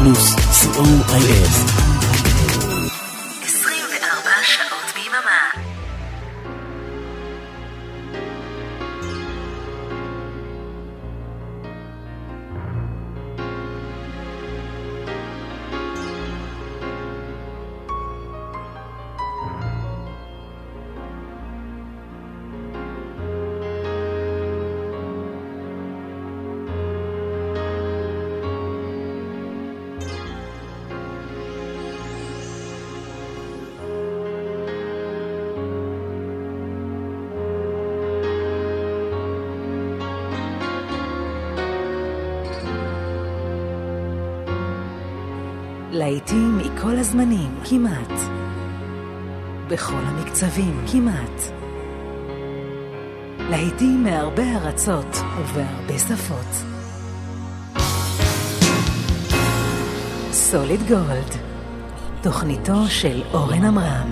פלוס, COIF. 24 שעות ביממה. להיטים מכל הזמנים, כמעט. בכל המקצבים, כמעט. להיטים מהרבה ארצות ובהרבה שפות. סוליד גולד, תוכניתו של אורן עמרם.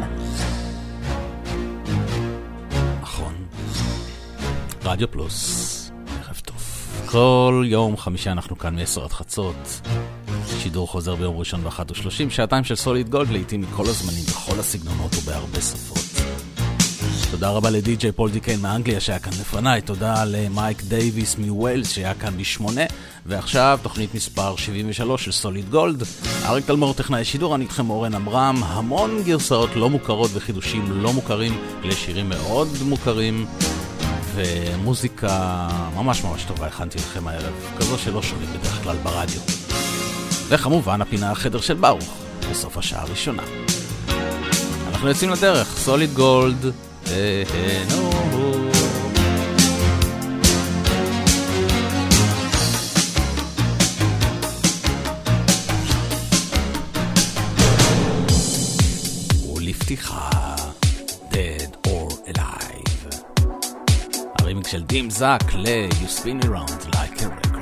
נכון. רדיו פלוס, ערב טוב. כל יום חמישי אנחנו כאן מ-10 עד חצות. שידור חוזר ביום ראשון ב-1:30, שעתיים של סוליד גולד, לעתים מכל הזמנים, בכל הסגנונות ובהרבה שפות. תודה רבה לדי-ג'יי פול דיקיין מאנגליה שהיה כאן לפניי, תודה למייק דייביס מווילס שהיה כאן ב-8, ועכשיו תוכנית מספר 73 של סוליד גולד. אריק תלמור טכנאי שידור, אני איתכם אורן עמרם, המון גרסאות לא מוכרות וחידושים לא מוכרים לשירים מאוד מוכרים, ומוזיקה ממש ממש טובה הכנתי לכם הערב, כזו שלא שומעים בדרך כלל ברדיו. וכמובן הפינה החדר של ברוך בסוף השעה הראשונה. אנחנו יוצאים לדרך, סוליד גולד, ולפתיחה Dead or Alive, הרימיק של דים זק ל-You Spin Me Round Like a Record.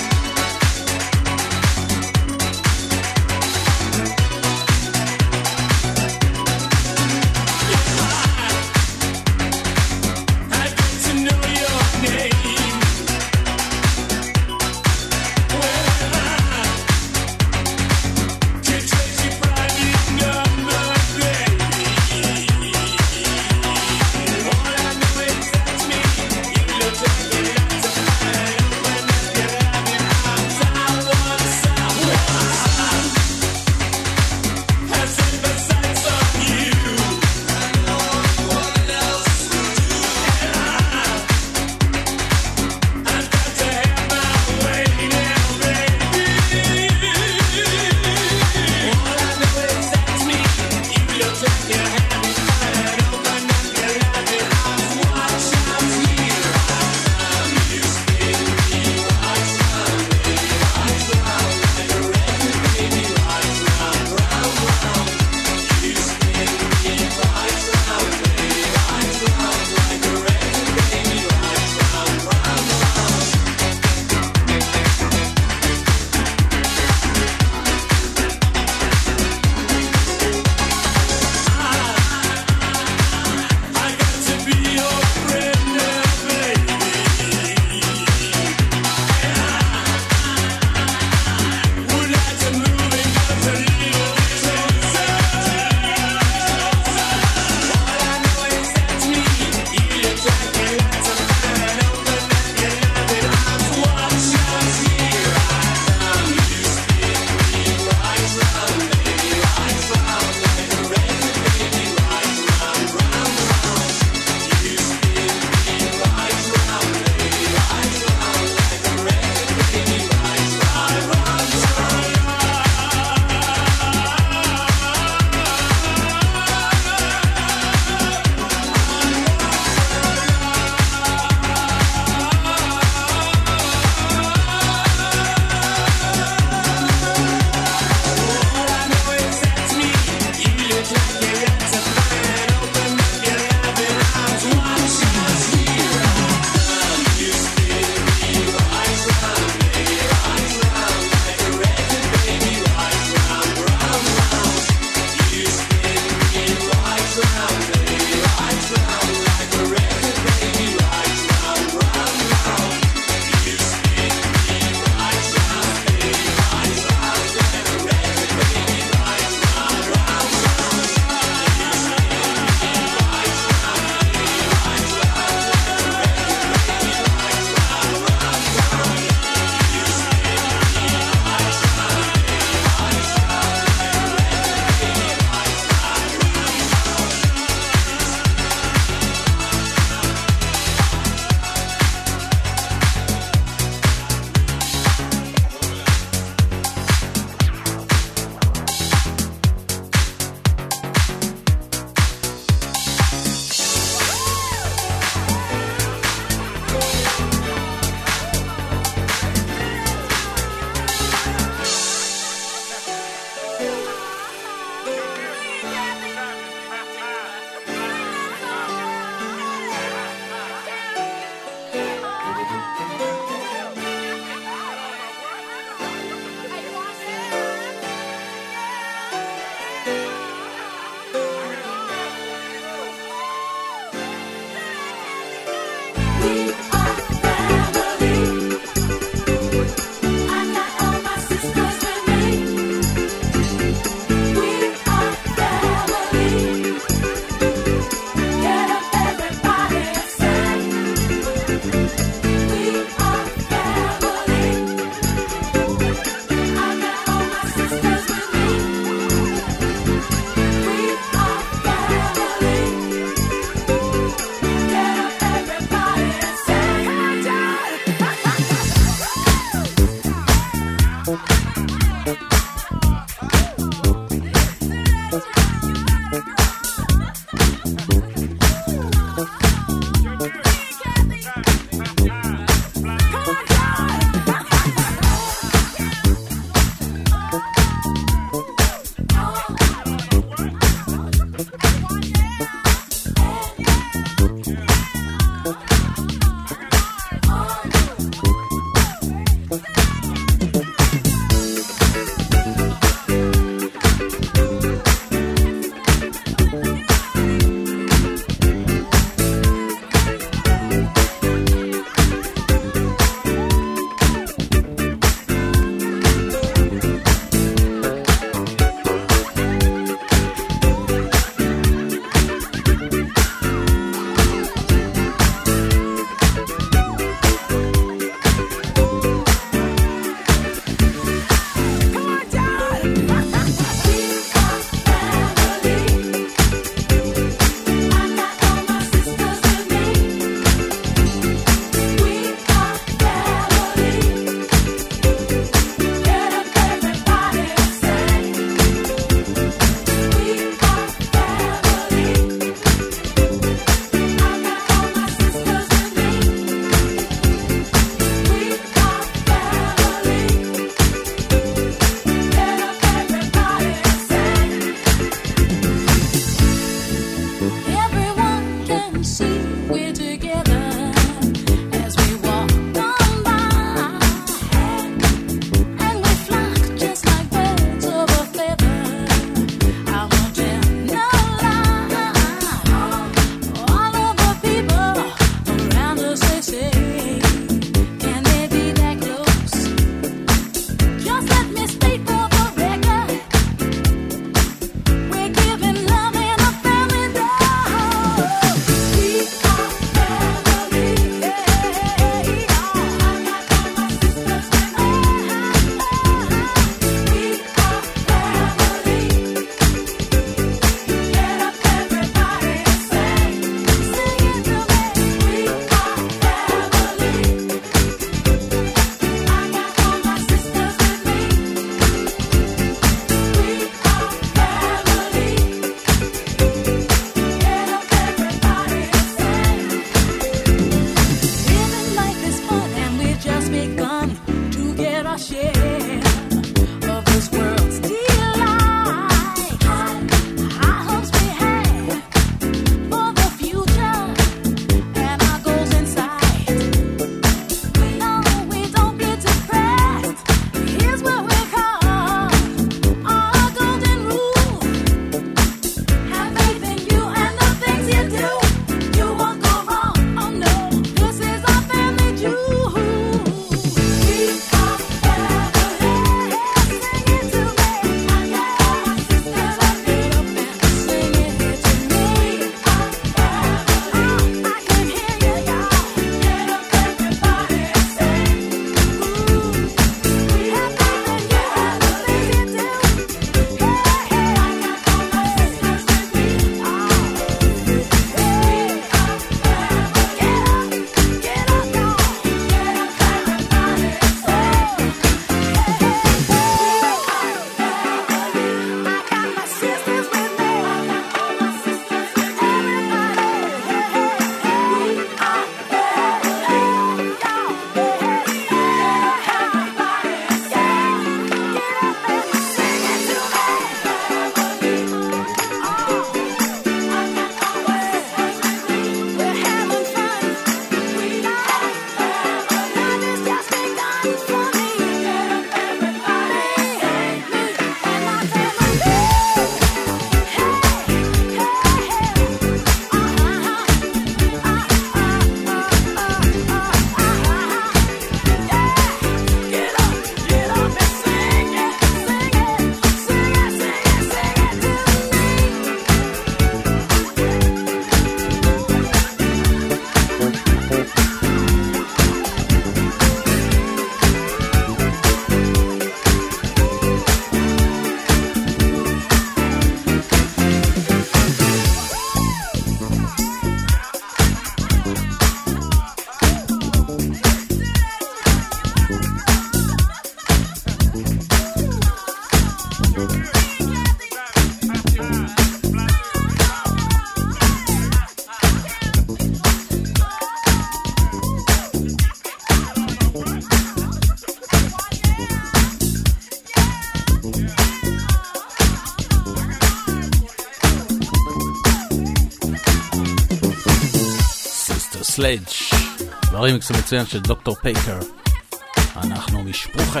מיסטר סלאג' והרימיקס המצוין של דוקטור פייקר. אנחנו משפרוחה.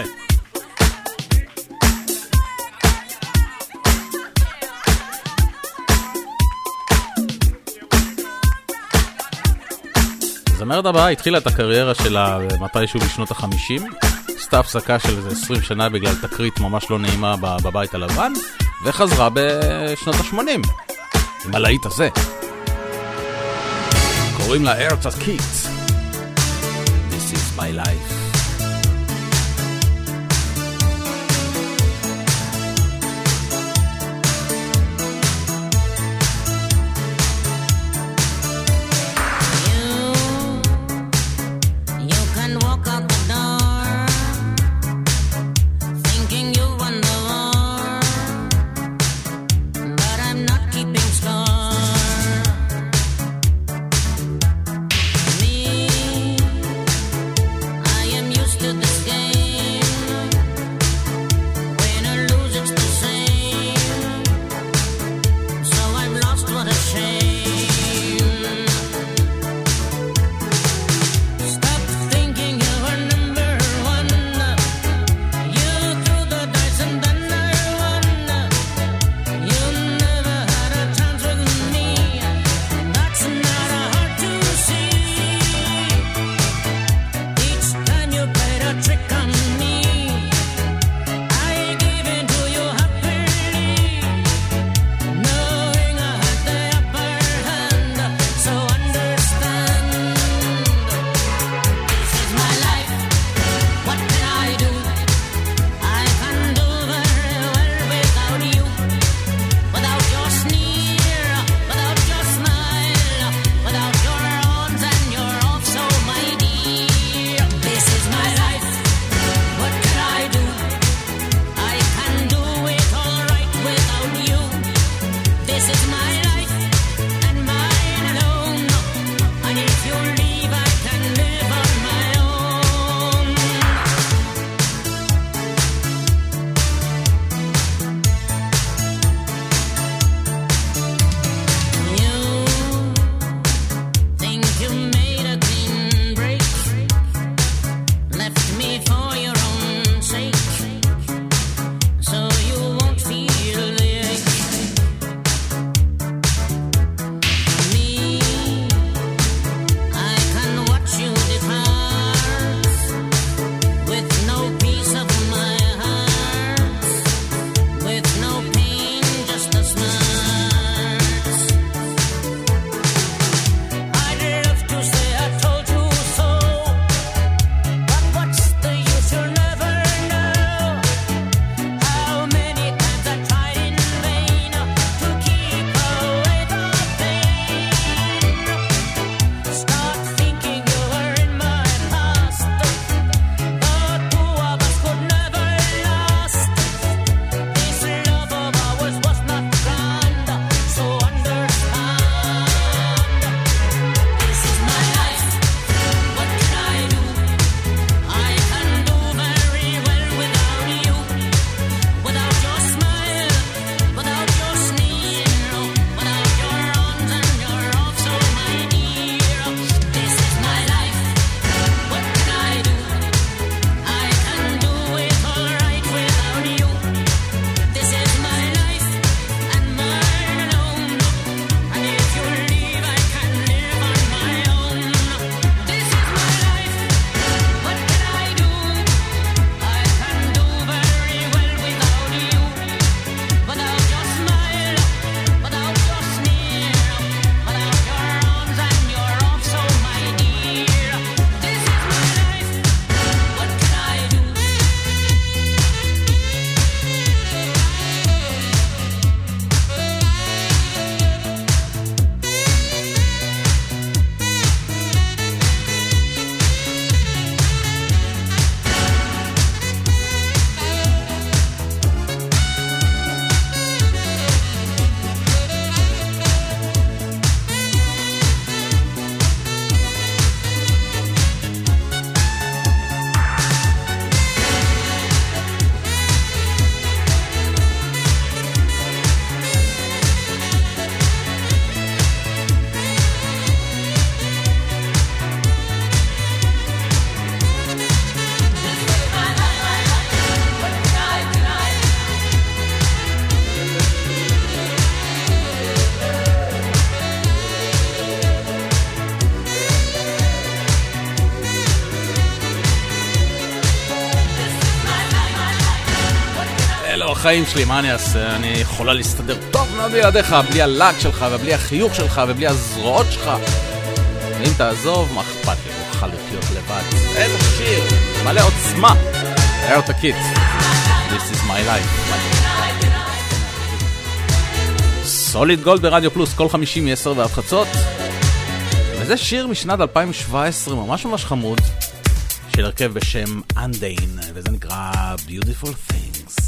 הזמרת הבאה התחילה את הקריירה שלה מתישהו בשנות ה-50, עשתה הפסקה של איזה 20 שנה בגלל תקרית ממש לא נעימה בבית הלבן, וחזרה בשנות ה-80 עם הלהיט הזה. קוראים לה ארתה קיט. This is my life. I בחיים שלי, מה אני אעשה? אני יכולה להסתדר טוב מאוד בלעדיך, בלי הלק שלך ובלי החיוך שלך ובלי הזרועות שלך. ואם תעזוב, מה אכפת לי? אוכל לחיות לבד. איזה שיר, מלא עוצמה. היה אותה קיט. This is my life. סוליד גולד ברדיו פלוס, כל 50 מ-10 ועד חצות. וזה שיר משנת 2017, ממש ממש חמוד, של הרכב בשם Undain, וזה נקרא Beautiful Things.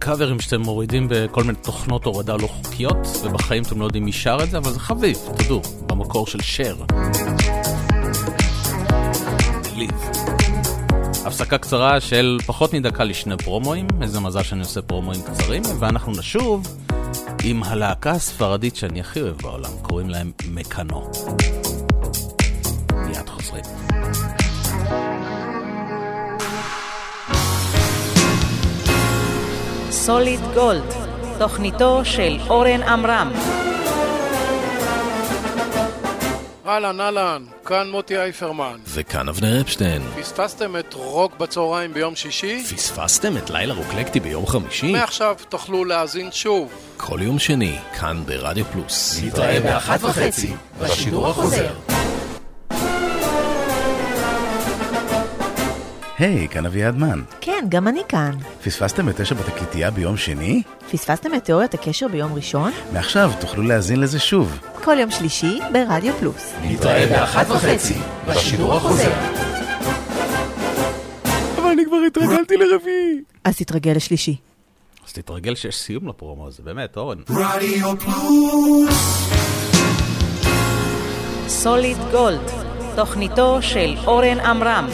קאברים שאתם מורידים בכל מיני תוכנות הורדה לא חוקיות, ובחיים אתם לא יודעים מי שר את זה, אבל זה חביב, תדעו, במקור של שר. ליב. הפסקה קצרה של פחות מדקה לשני פרומואים, איזה מזל שאני עושה פרומואים קצרים, ואנחנו נשוב עם הלהקה הספרדית שאני הכי אוהב בעולם, קוראים להם מקאנו. מיד חוזרים. סוליד גולד, תוכניתו של אורן עמרם. אהלן, כאן מוטי אייפרמן. וכאן אבנר אפשטיין. פספסתם את רוק בצהריים ביום שישי? פספסתם את לילה רוקלקטי ביום חמישי? מעכשיו תוכלו להאזין שוב. כל יום שני, כאן ברדיו פלוס. נתראה ב-1:30 בשידור החוזר. היי, כאן אביעד מן. כן, גם אני כאן. פספסתם את 9 בתקליטייה ביום שני? פספסתם את תיאוריית הקשר ביום ראשון? מעכשיו תוכלו להאזין לזה שוב. כל יום שלישי ברדיו פלוס. נתראה ב-1:30 בשידור החוזר. אבל אני כבר התרגלתי לרביעי. אז תתרגל לשלישי. אז תתרגל שיש סיום לפרומו הזה, באמת, אורן. רדיו פלוס. סוליד גולד, תוכניתו של אורן עמרם.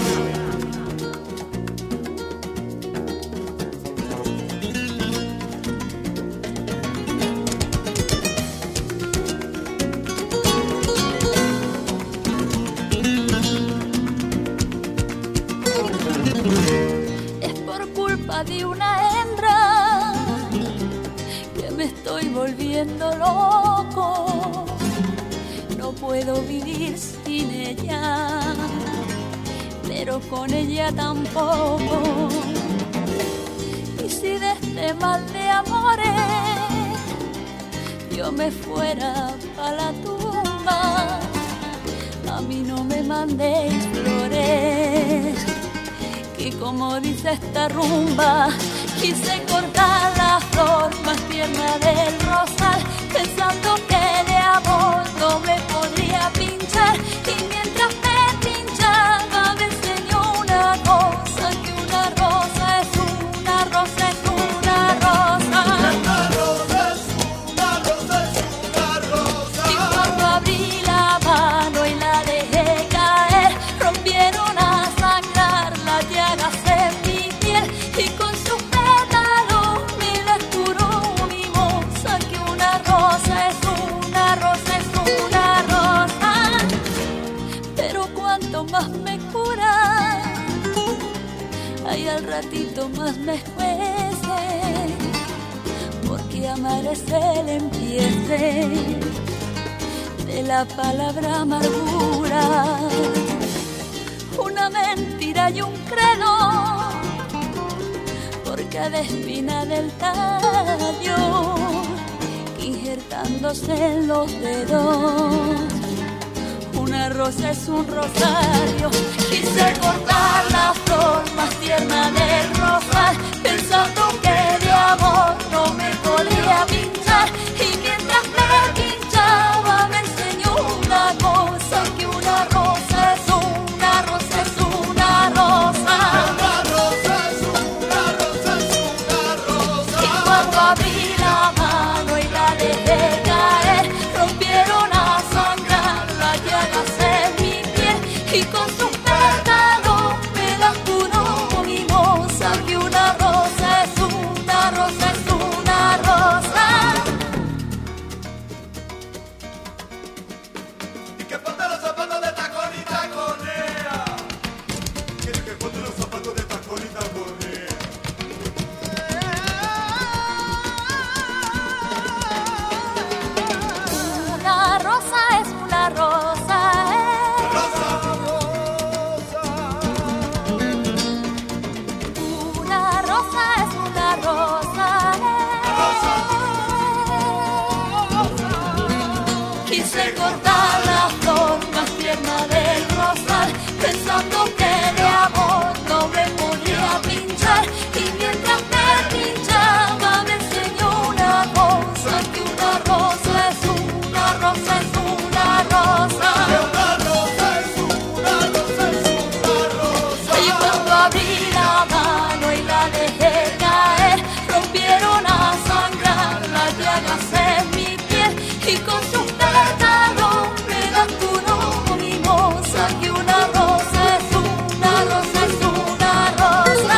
De una hembra que me estoy volviendo loco, no puedo vivir sin ella, pero con ella tampoco. Y si de este mal de amores yo me fuera pa' la tumba, a mí no me mandéis flores. Y como dice esta rumba, quise cortar la flor más tierna del rosal, pensando que de amor no me podría pinchar. Y mientras me pinchaba me enseñó una cosa, que una rosa es una rosa es una rosa. Una rosa es una rosa es una rosa. Y cuando abrí la mano y la dejé caer, rompieron a sangrar las llagas en mi piel, y con sus pétalos me las curó mi moza, que una rosa es una rosa es una rosa. Pero cuanto más me cura, ay, al ratito más me escuece, porque amar es el empiece de la palabra amargura. Una mentira y un credo por cada espina del tallo, injertándose en los dedos. Una rosa es un rosario. Quise cortar la flor más tierna del rosal, pensando que de amor no me podía pinchar. Y mientras me pinchaba me enseñó una cosa, que una rosa es una rosa es una rosa. Una rosa es una rosa es una rosa. Y cuando abrí la mano y la dejé caer, rompieron a sangrar las llagas en mi piel, y con sus pétalos me las curó mi moza, que una rosa es una rosa es una rosa. Y que ponte los zapatos de tacón y taconea. Quiere que ponte los zapatos de tacón y taconea. Una rosa es una rosa, Rosa, una rosa es una rosa, Quise cortar la flor más tierna del rosal, pensando que de amor no me podía pinchar. Y mientras me pinchaba me enseñó una cosa, que una rosa es una rosa es una rosa. una rosa es una rosa es una rosa. Y cuando abrí la mano y la dejé caer, rompieron hágase mi piel y con sus pétalos me das tu nombre, mimosa, que una rosa es una rosa es una rosa.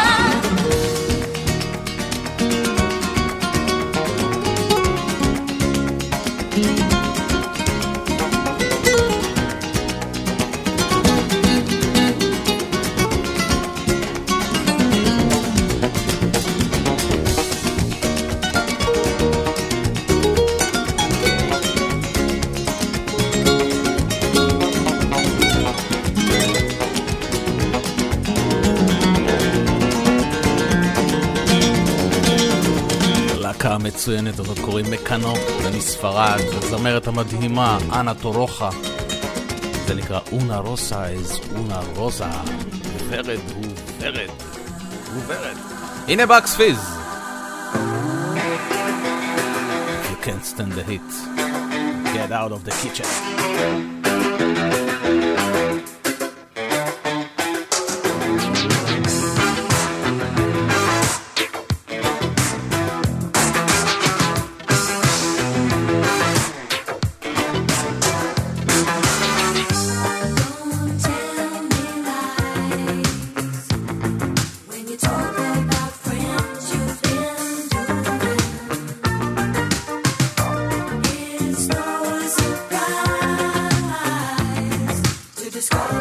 המצוינת הזאת קוראים מקנו, זה מספרד, הזמרת המדהימה אנה טורוחה, זה נקרא אונה רוסה איז אונה רוזה, ורד הוא ורד הוא ורד. הנה בקס פיז. If you can't stand the heat, get out of the kitchen. Discover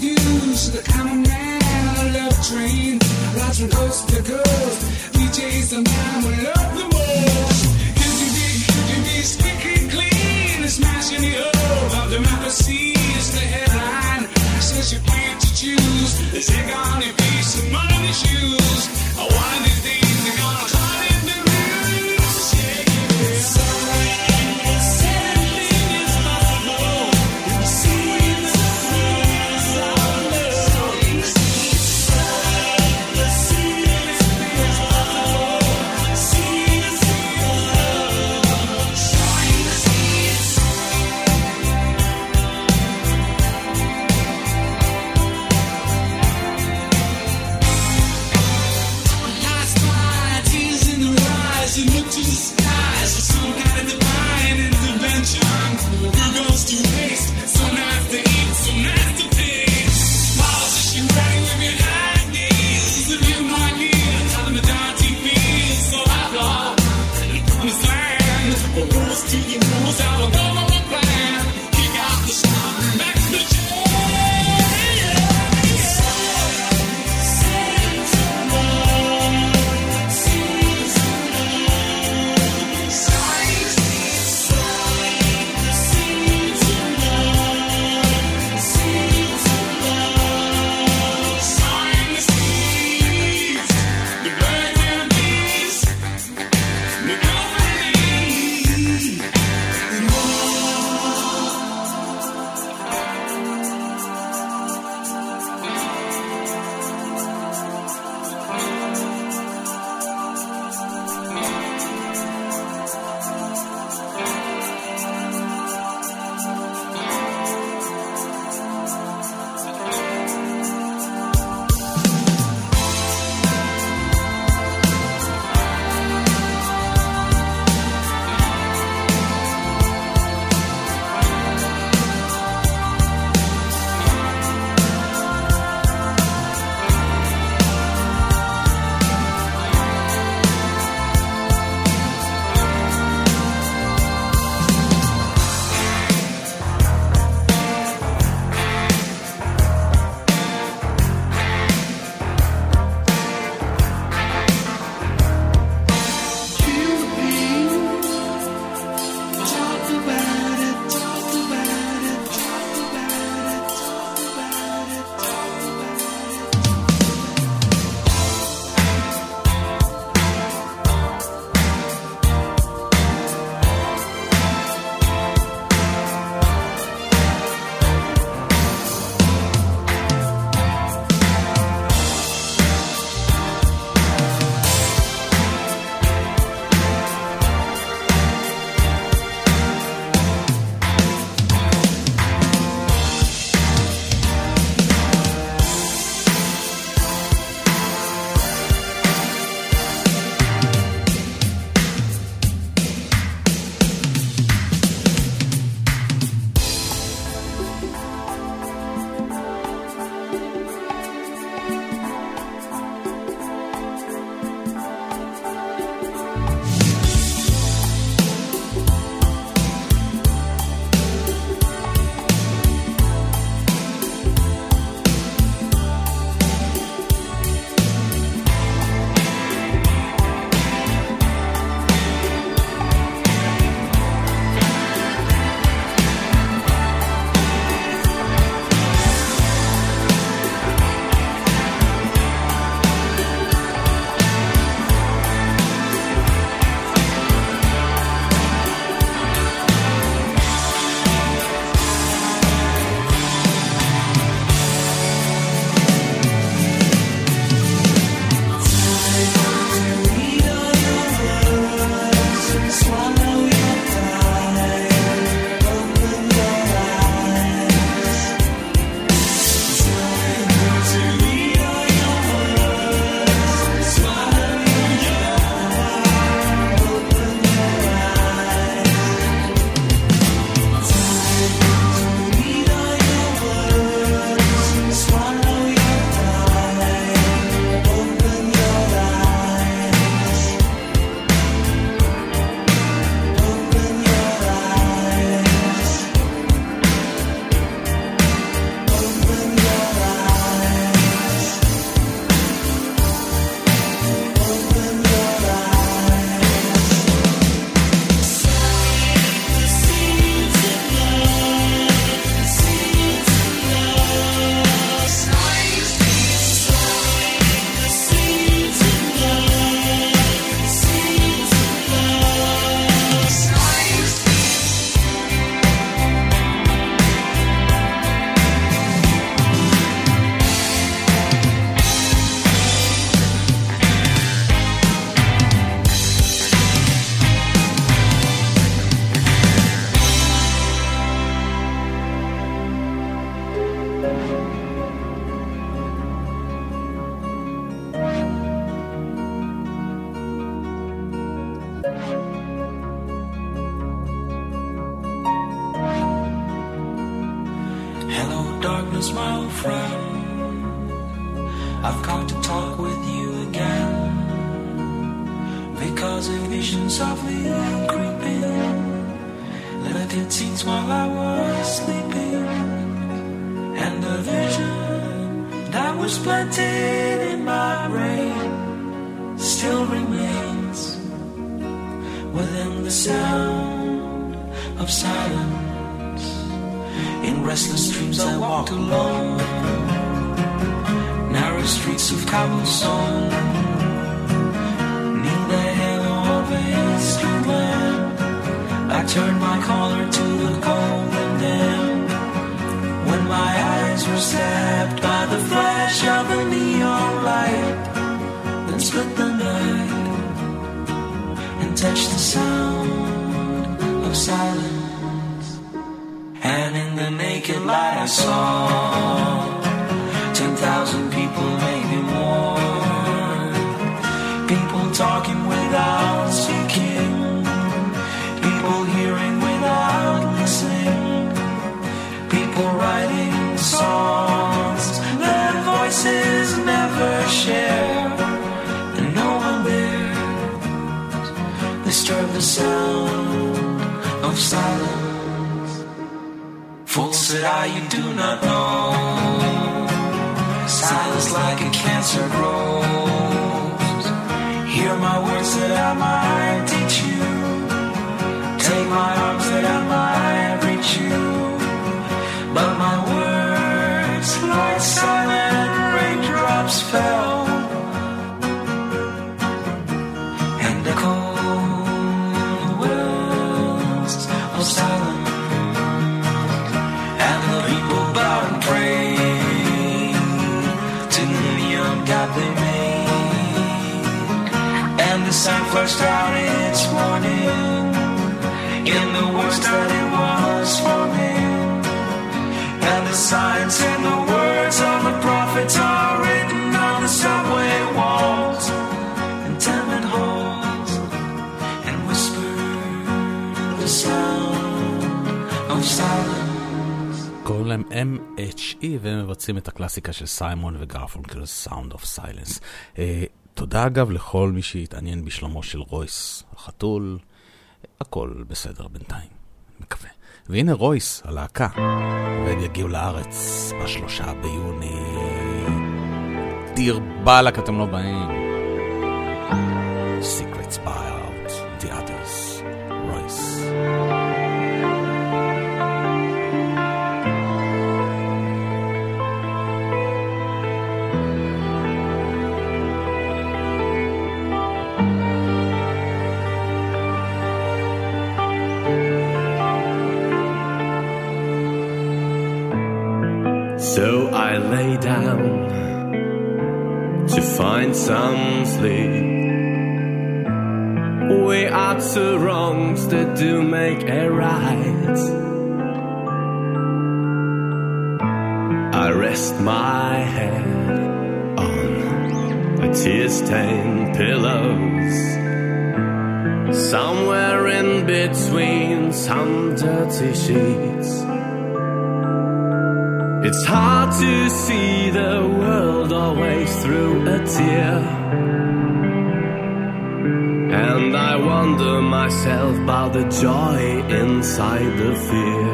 news, the common man on a love train, rides from coast to coast. DJ's the man we love the most. Could you be squeaky clean and smashing the hope of democracy is the headline. Says you're free to choose. They take on your piece of money shoes. One of these days they're gonna cut in the news. Yeah, yeah. Anything is possible. See the thrills of love. See the thrills of love. See the thrills of love. Showing the seeds. I've come to talk with you again, because a vision softly creeping left its scenes while I was sleeping, and the vision that was planted in my brain still remains within the sound of silence. In restless dreams I walked alone, narrow streets of cobblestone, neath the halo of a street lamp. I turned my collar to the cold and damp, when my eyes were stabbed by the flash of a neon light, then split the night and touched the sound of silence. And in the naked light I saw 10,000 people, maybe more, people talking without speaking, people hearing without listening, people writing songs their voices never share, and no one there disturbed the sound of silence. Fool, said I, you do not know, silence like a cancer grows. Hear my words that I might teach you, take my arms that I might reach you, but my words like silent raindrops fell and echoed the wells of silence. And the people bowed and prayed to the neon god they made, and the sun flushed out its warning in the words that it was forming, and the signs and the words of the prophets are written on the subway walls and tenement halls, and whispered in the sound of silence. קוראים להם MHE, והם מבצעים את הקלאסיקה של סיימון וגרפונקל, Sound of Silence. תודה אגב לכל מי שהתעניין בשלומו של רויס החתול. הכל בסדר בינתיים, מקווה. והנה רויס, הלהקה, והם יגיעו לארץ ב3 ביוני. דיר בלק, אתם לא באים. Secrets by out, the others, רויס. So I lay down to find some sleep. We are two wrongs that do make a right. I rest my head on a tear-stained pillows, somewhere in between some dirty sheets. It's hard to see the world always through a tear, and I wonder myself about the joy inside the fear.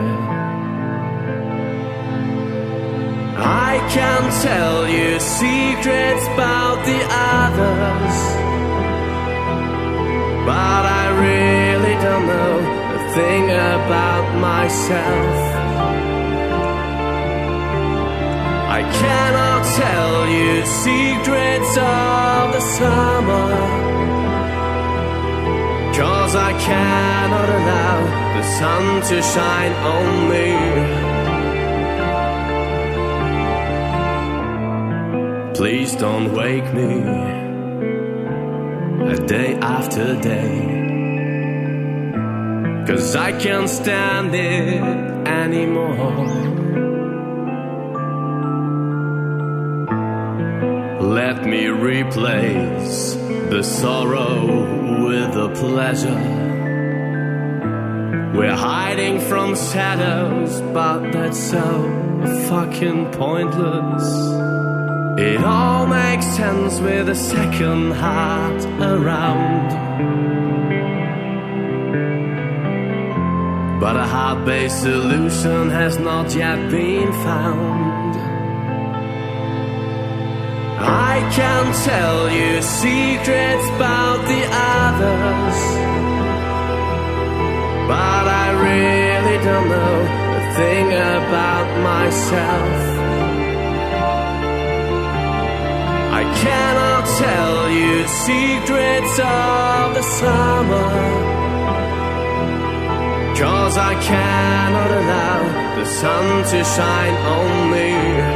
I can tell you secrets about the others, but I really don't know a thing about myself. I cannot tell you secrets of the summer, 'cause I cannot allow the sun to shine on me. Please don't wake me a day after day, 'cause I can't stand it anymore. Let me replace the sorrow with the pleasure. We're hiding from shadows, but that's so fucking pointless. If It all makes sense with a second heart around. But a heart-based solution has not yet been found. I can tell you secrets about the others, but I really don't know a thing about myself. I cannot tell you secrets of the summer, 'cause I cannot allow the sun to shine on me.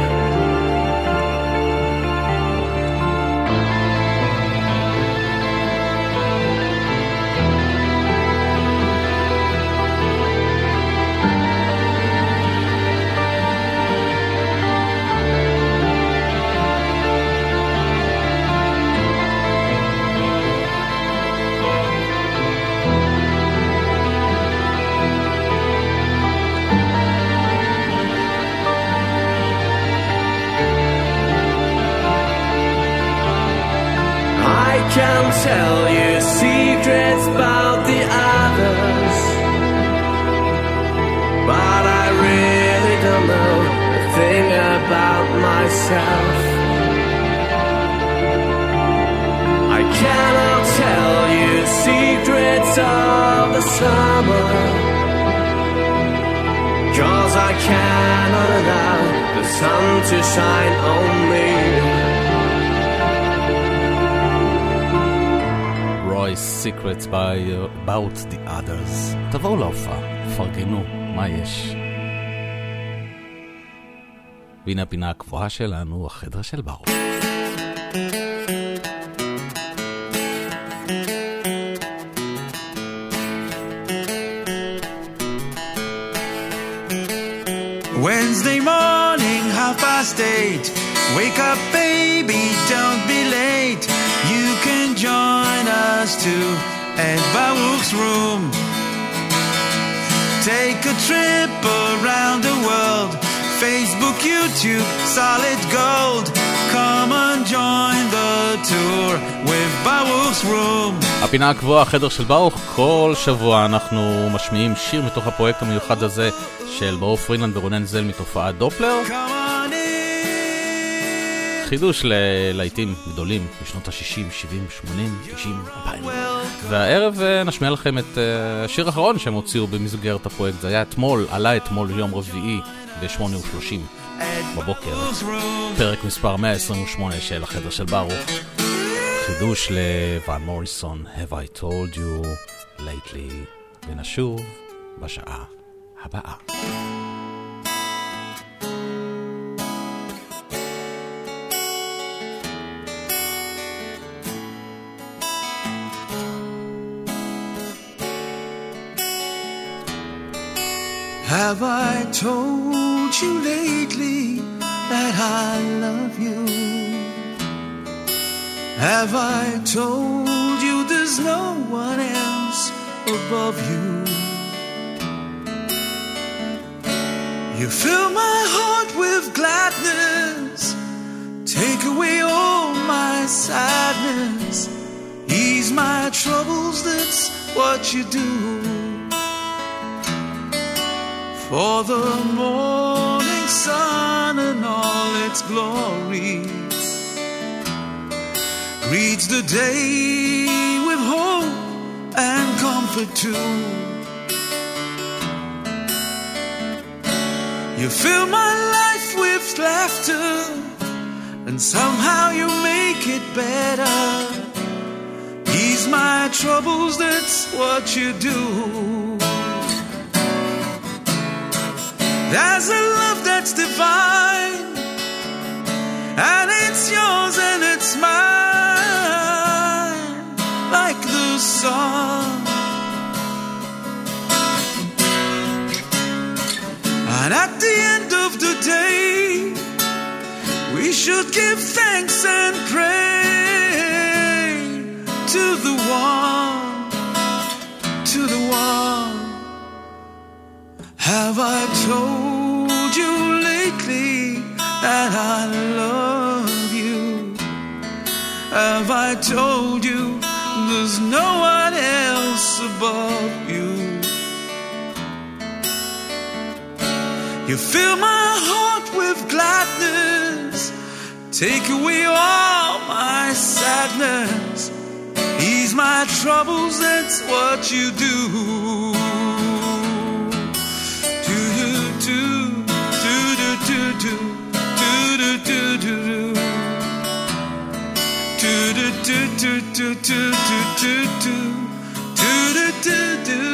I can tell you secrets about the others, but I really don't know a thing about myself. I cannot tell you secrets of the summer, 'cause I cannot allow the sun to shine on me. Secrets about the others. תבואו להופעה, פרגנו, מה יש? והנה הפינה הקבועה שלנו, החדר של ברוך. Wednesday morning, 8:30. Wake up, baby, don't be late. You can join us too at Baruch's room. Take a trip around the world. Facebook, YouTube, solid gold. Come and join the tour with Baruch's room. הפינה הקבועה, החדר של ברוך. כל שבוע אנחנו משמיעים שיר מתוך הפרויקט המיוחד הזה של ברוך פרינלנד ורונן זל מתופעת דופלר. חידוש ללהיטים גדולים בשנות ה-60, 70, 80, 90, 2000. והערב נשמיע לכם את השיר האחרון שהם הוציאו במסגרת הפרויקט. זה היה אתמול, עלה אתמול יום רביעי ב-8:30 בבוקר. פרק מספר 128 של החדר של ברוך. חידוש לוואן מוריסון, Have I Told You Lately. ונשוב בשעה הבאה. Have I told you lately that I love you? Have I told you there's no one else above you? You fill my heart with gladness, take away all my sadness, ease my troubles, that's what you do. For the morning sun and all its glory greets the day with hope and comfort too. You fill my life with laughter, and somehow you make it better. Ease my troubles, that's what you do. There's a love that's divine, and it's yours and it's mine, like the sun. And at the end of the day, we should give thanks and pray to the one, to the one. Have I told you lately that I love you? Have I told you there's no one else above you? You fill my heart with gladness, take away all my sadness, ease my troubles, that's what you do. Do-do-do, do-do-do-do, do-do-do-do, do-do-do-do-do-do-do-do, do-do-do-do.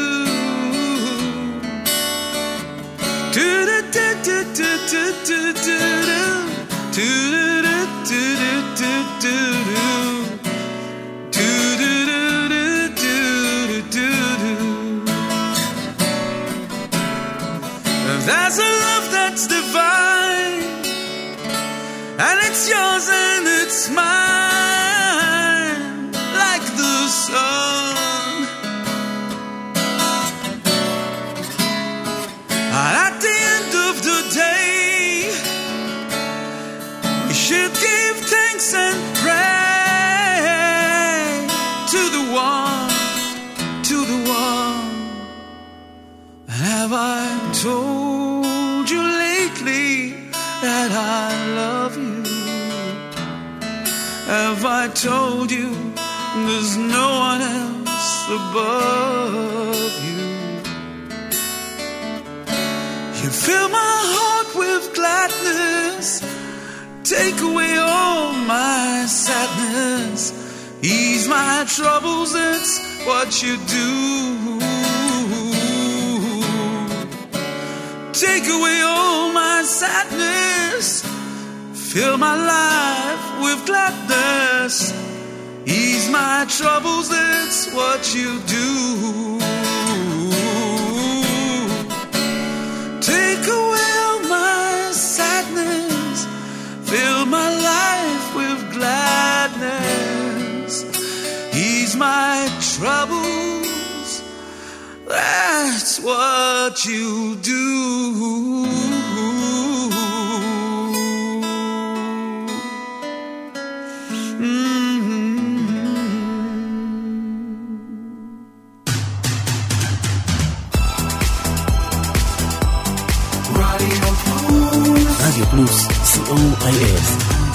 There's a love that's divine, and it's yours and it's mine, like the sun. And at the end of the day, we should give thanks and pray to the one. Have I told you lately that I love you? Have I told you there's no one else above you? You fill my heart with gladness, take away all my sadness, ease my troubles, that's what you do. Take away all my sadness, fill my life with gladness, ease my troubles, that's what you do. Take away all my sadness, fill my life with gladness, ease my troubles, that's what you do. רדיו פלוס, COIS.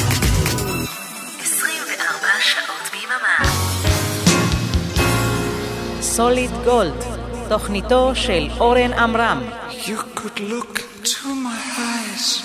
24 שעות ביממה. סוליד גולד, תוכניתו של אורן עמרם. You could look to my eyes.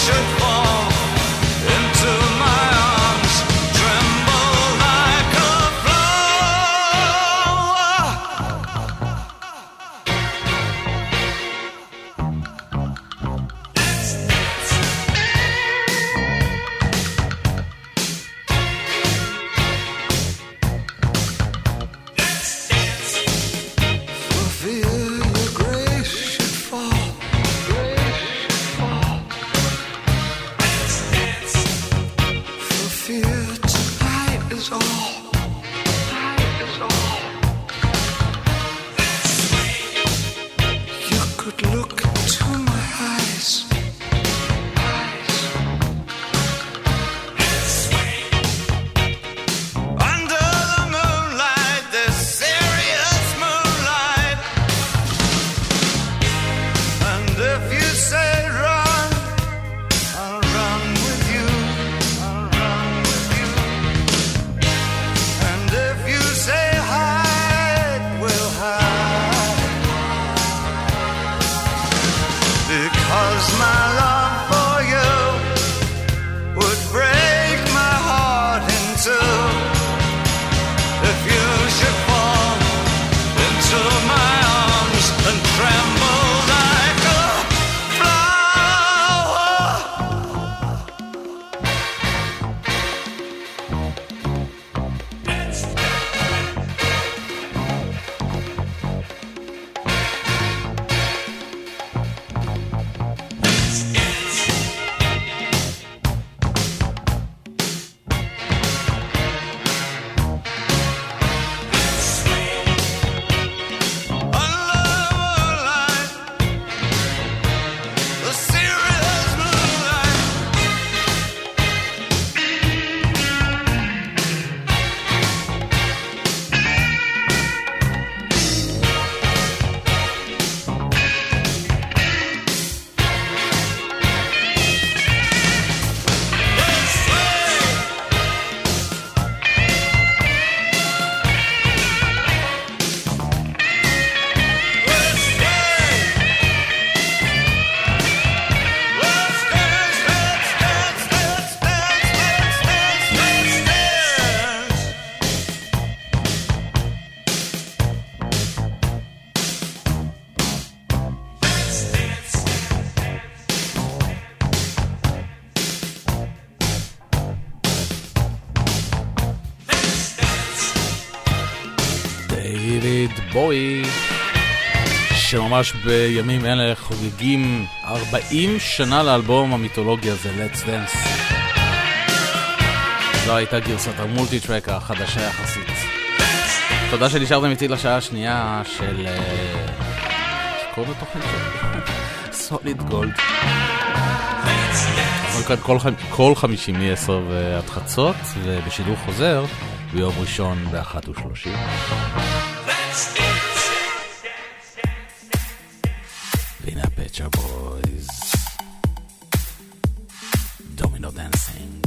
should fall into my arms, tremble like a for fear your grace should fall. For fear tonight is all. You could look into my eyes. Under the moonlight, this serious moonlight. And if you say run, I'll run with you. I'll run with you. And if you say hide, we'll hide. Because my love for you would break my heart in two. If you should fall into my arms and tremble like a flower. The serious moonlight. דייוויד בואי, שממש בימים אלה חוגגים 40 שנה לאלבום המיתולוגי הזה, Let's Dance. זו הייתה גרסת המולטי-טרק החדשה יחסית. תודה שנשארתם איתי לשעה השנייה של... קוראים לתוכנית סוליד גולד. כל חמישי מ-10 ועד חצות, ובשידור חוזר ביום ראשון ב-1:30. והנה הפצ'ר בויז, דומינו דנסינג.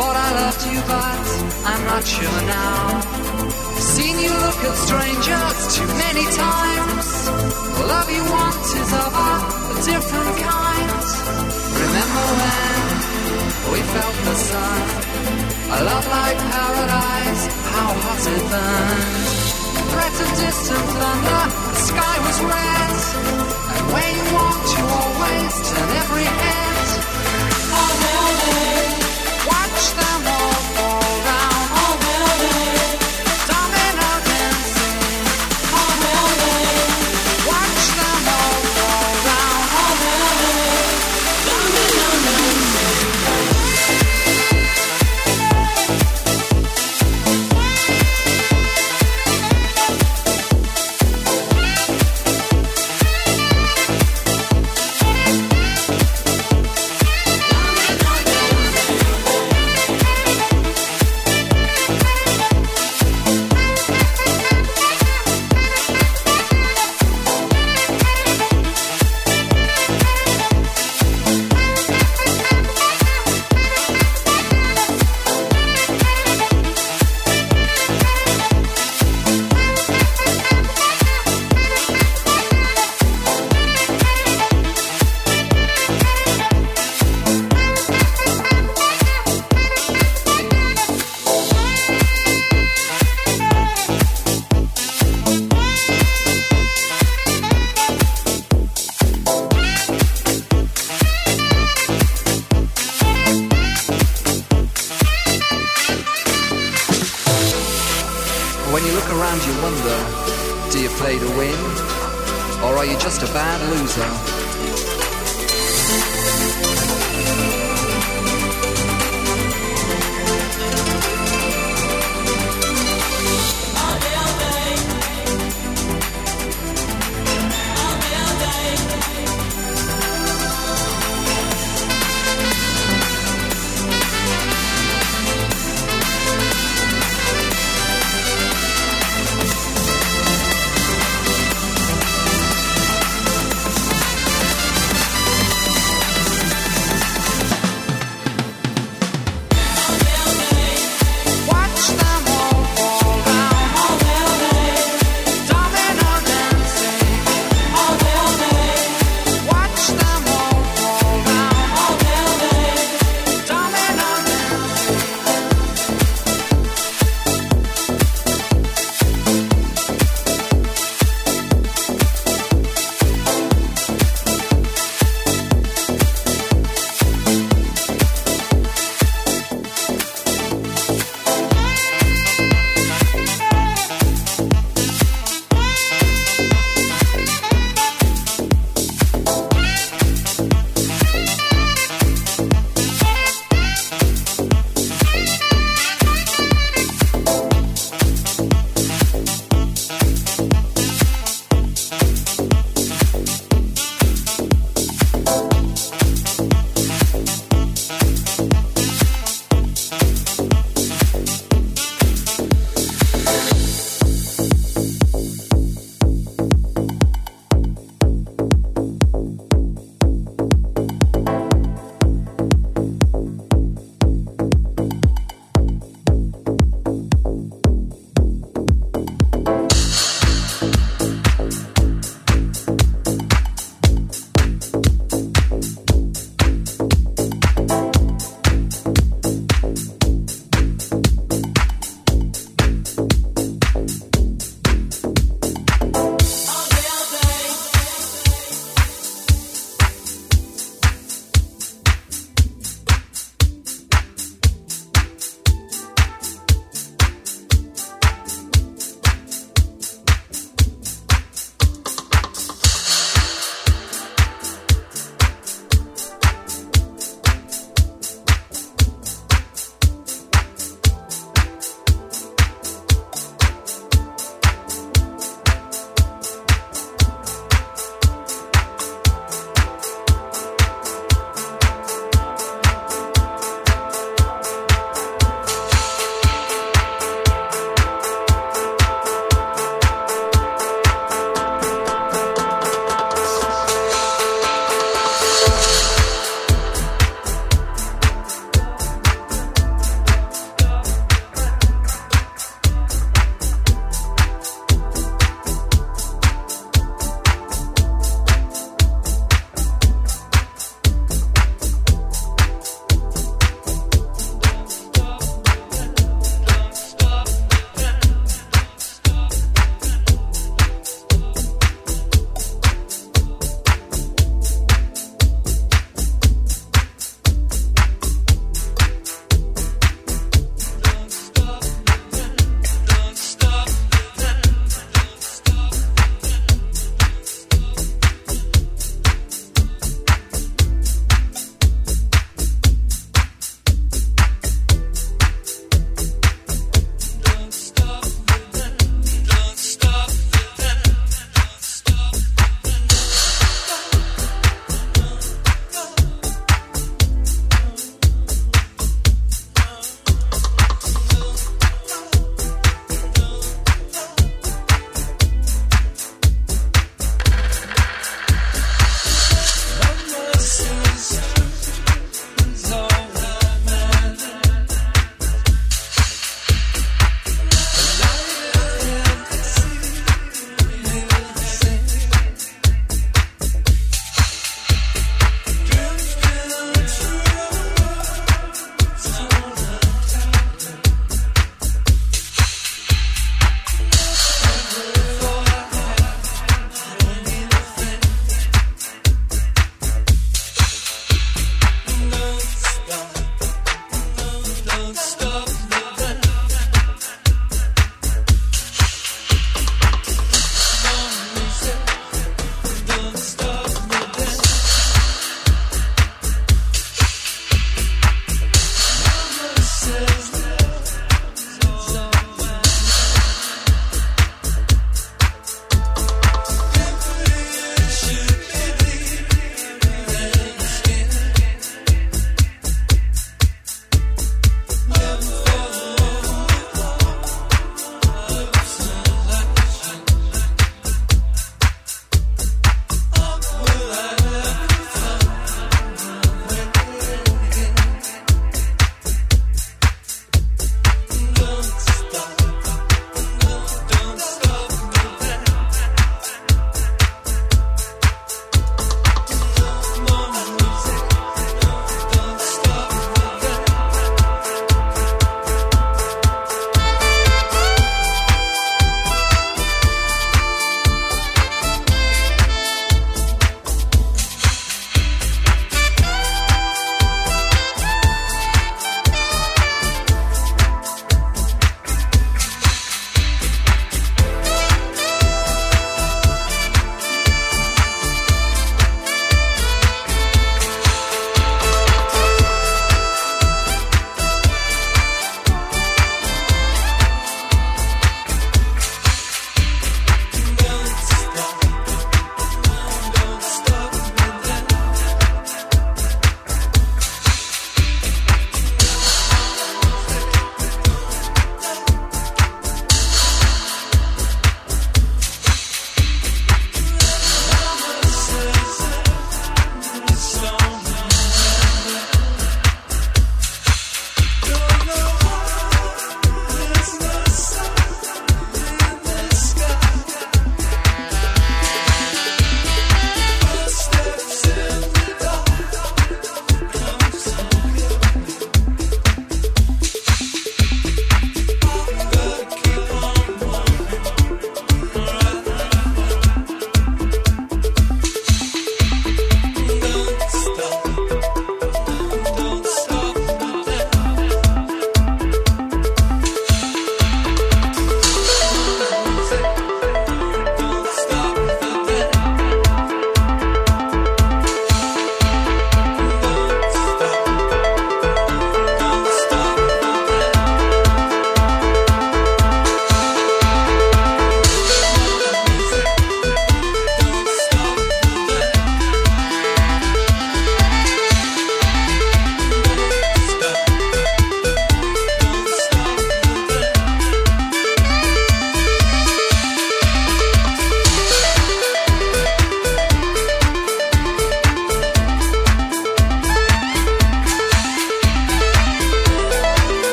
Thought I loved you, but I'm not sure now. Seen you look at strangers too many times. The love you want is of a different kind. Remember when we felt the sun? A love like paradise, how hot it burned. Threat of distant thunder, the sky was red. And where you walked, you always turn every head. Oh, will they watch them all fall down? Oh, will they domino dancing? Oh, will they watch them all fall down? Oh, will they domino dancing? When you look around you wonder, do you play to win? Or are you just a bad loser?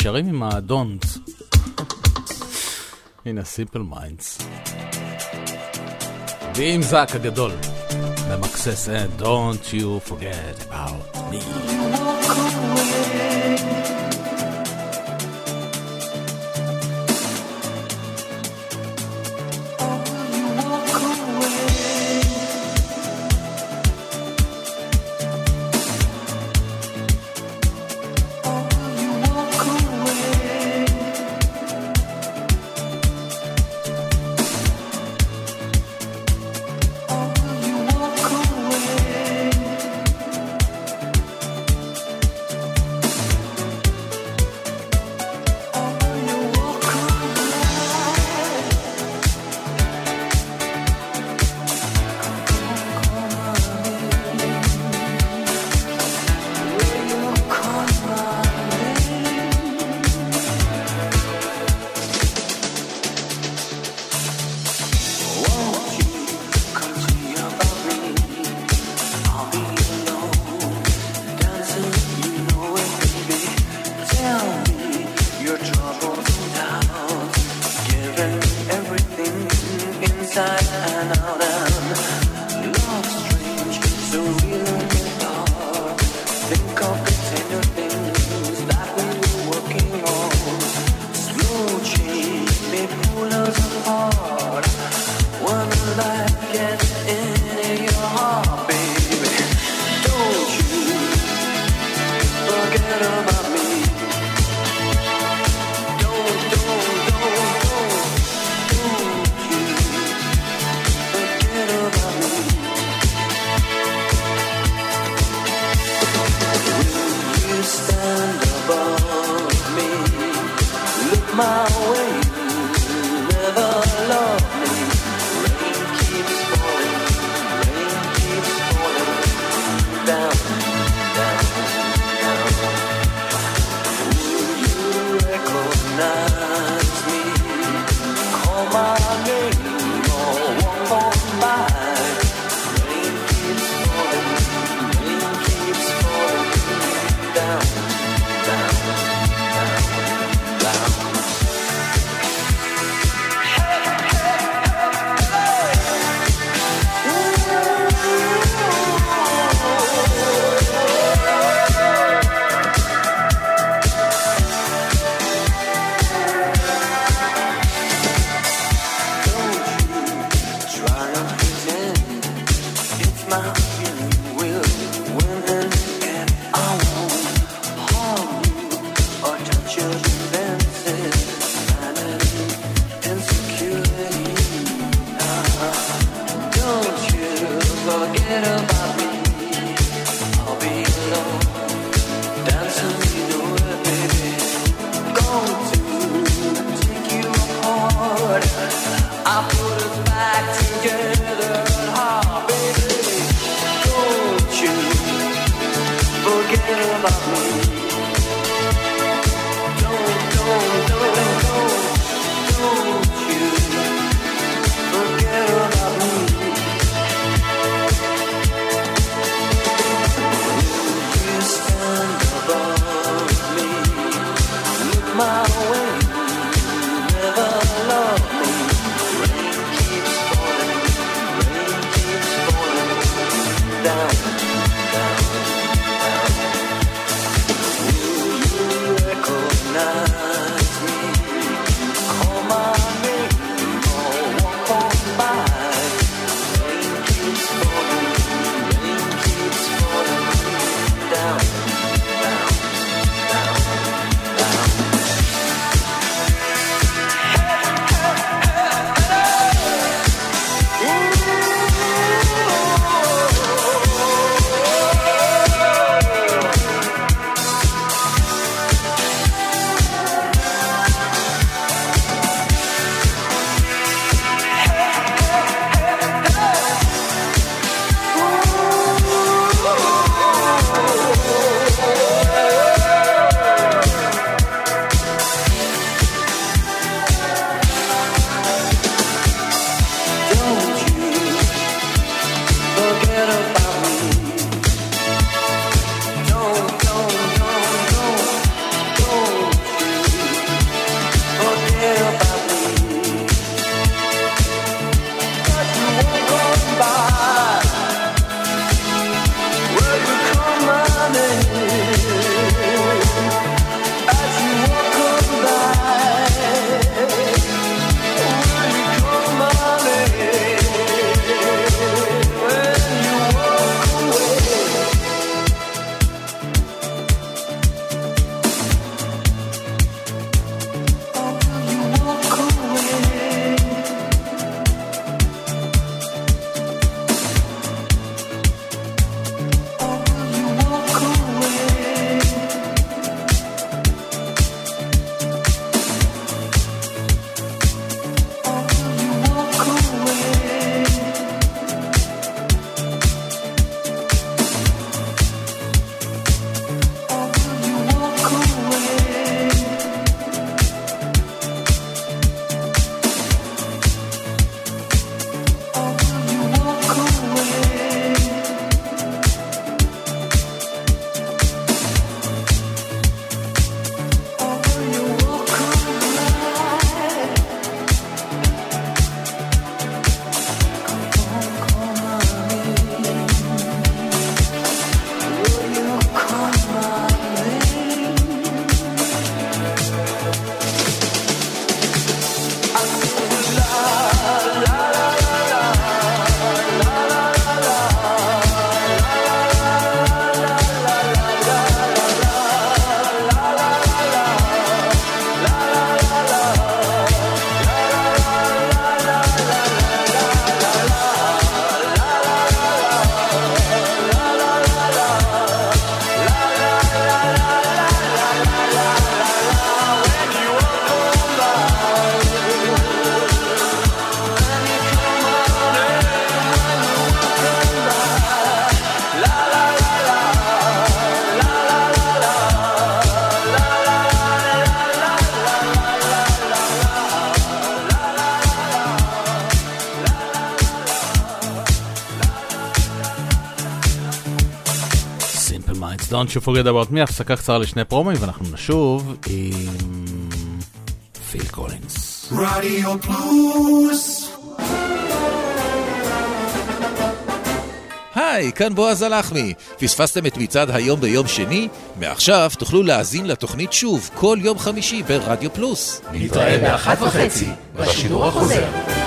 נשארים עם ה-don't. הנה, Simple Minds. ועם זק הגדול. במקסס, don't you forget about me. Hey! Don't you forget about me, הפסקה קצרה לשני פרומואים ואנחנו נשוב עם פיל קולינס. רדיו פלוס. היי, כאן בועז הלחמי. פספסתם את מצעד היום ביום שני? מעכשיו תוכלו להאזין לתוכנית שוב כל יום חמישי ברדיו פלוס. נתראה ב-1:30 בשידור החוזר.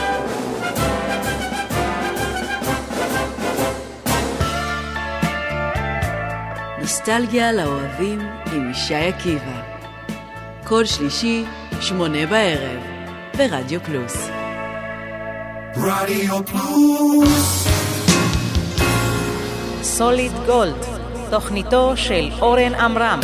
נוסטלגיה לאוהבים עם ישי עקיבא. כל שלישי, 8 בערב, ברדיו פלוס. רדיו פלוס. סוליד גולד, תוכניתו של אורן עמרם.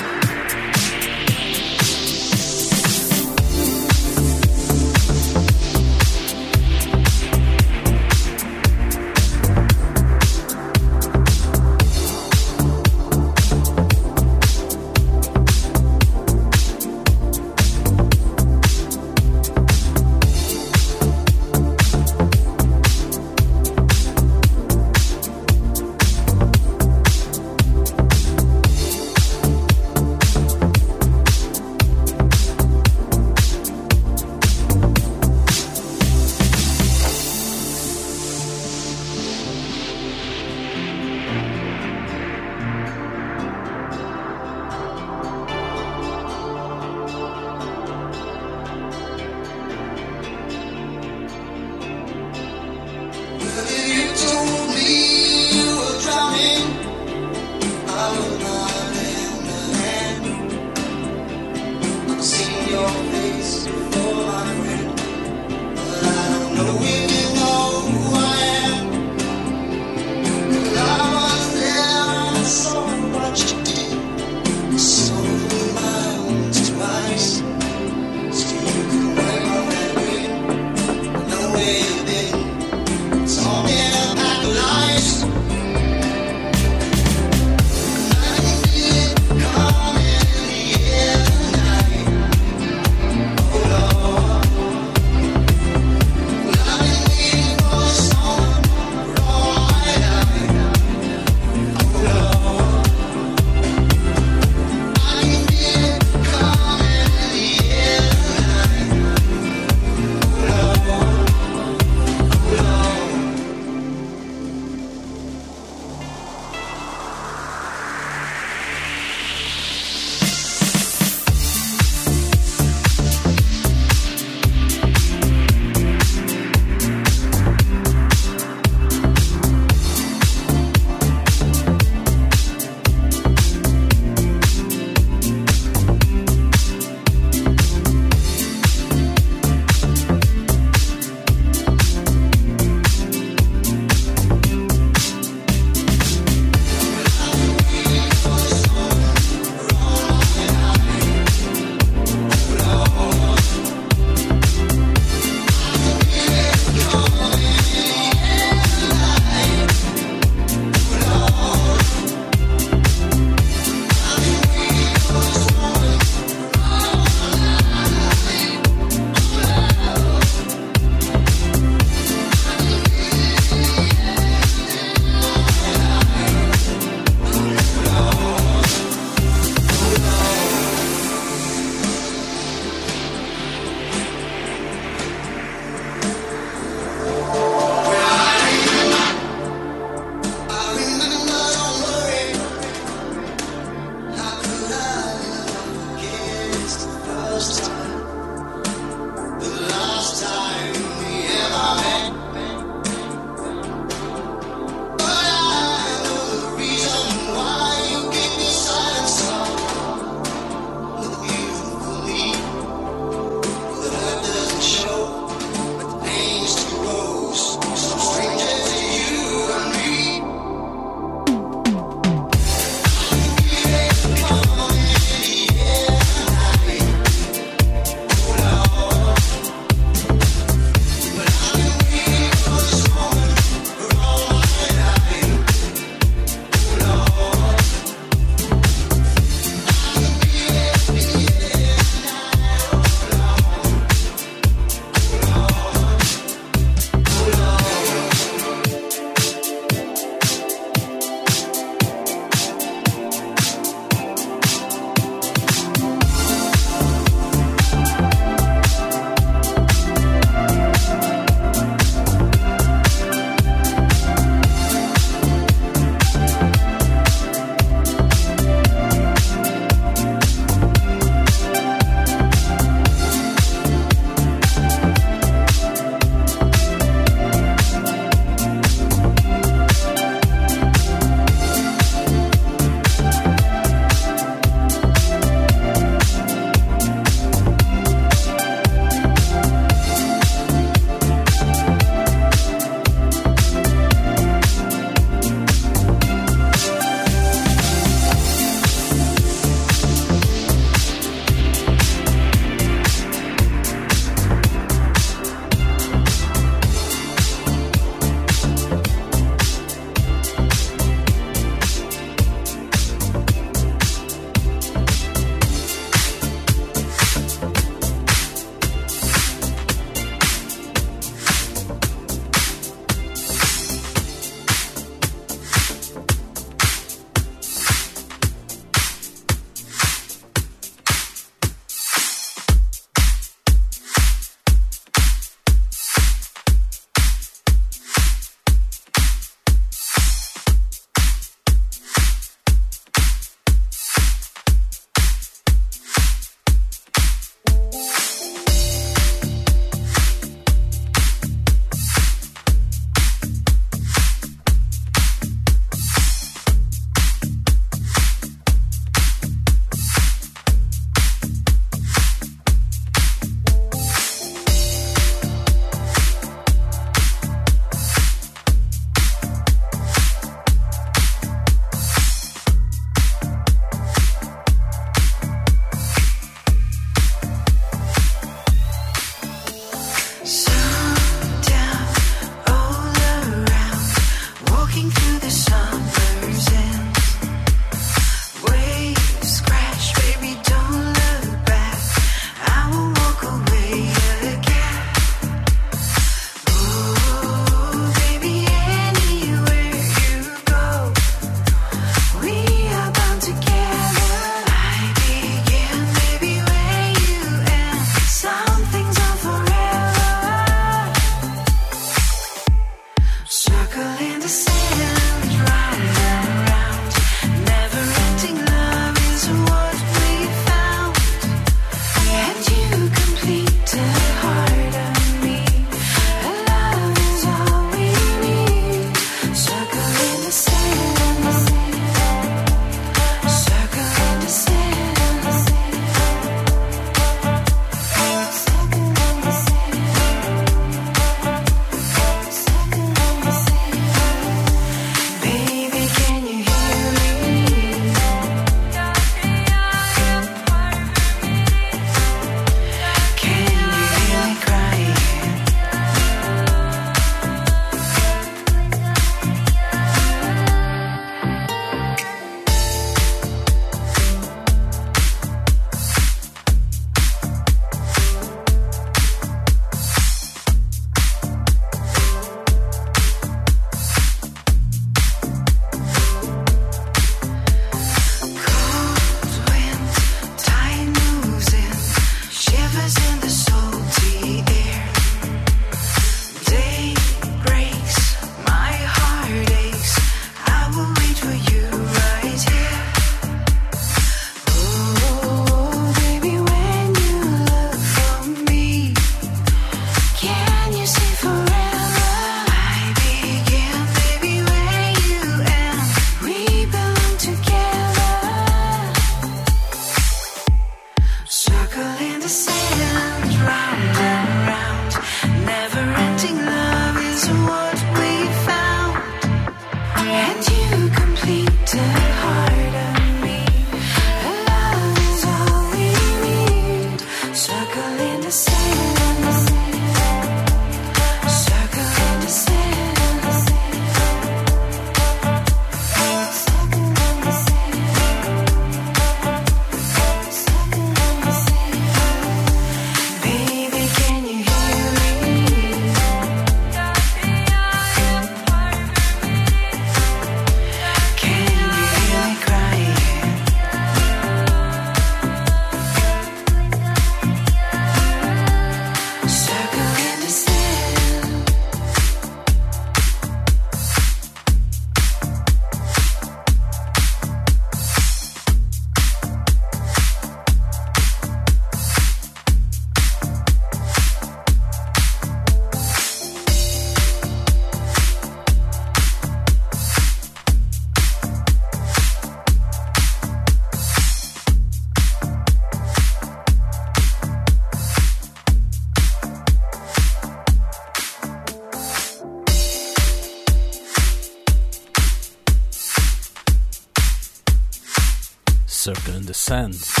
Sand.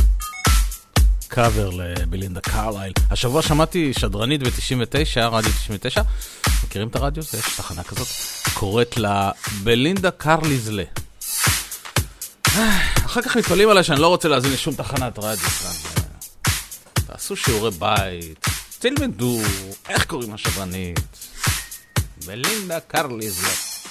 קאבר לבלינדה קרלייל. השבוע שמעתי שדרנית ב-99, רדיו 99. מכירים את הרדיו? יש תחנה כזאת. קוראת לה בלינדה קרליזלה. אחר כך מתפלאים עליי שאני לא רוצה להזין לשום תחנת רדיו. תעשו שיעורי בית. תלמדו איך קוראים השדרנית. בלינדה קרליזלה.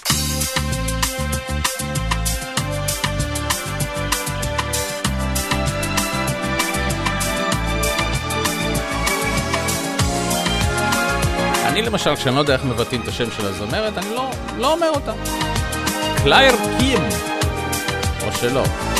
אני למשל, כשאני לא יודע איך מבטאים את השם של הזמרת, אני לא אומר אותה. קלייר קים. או שלא.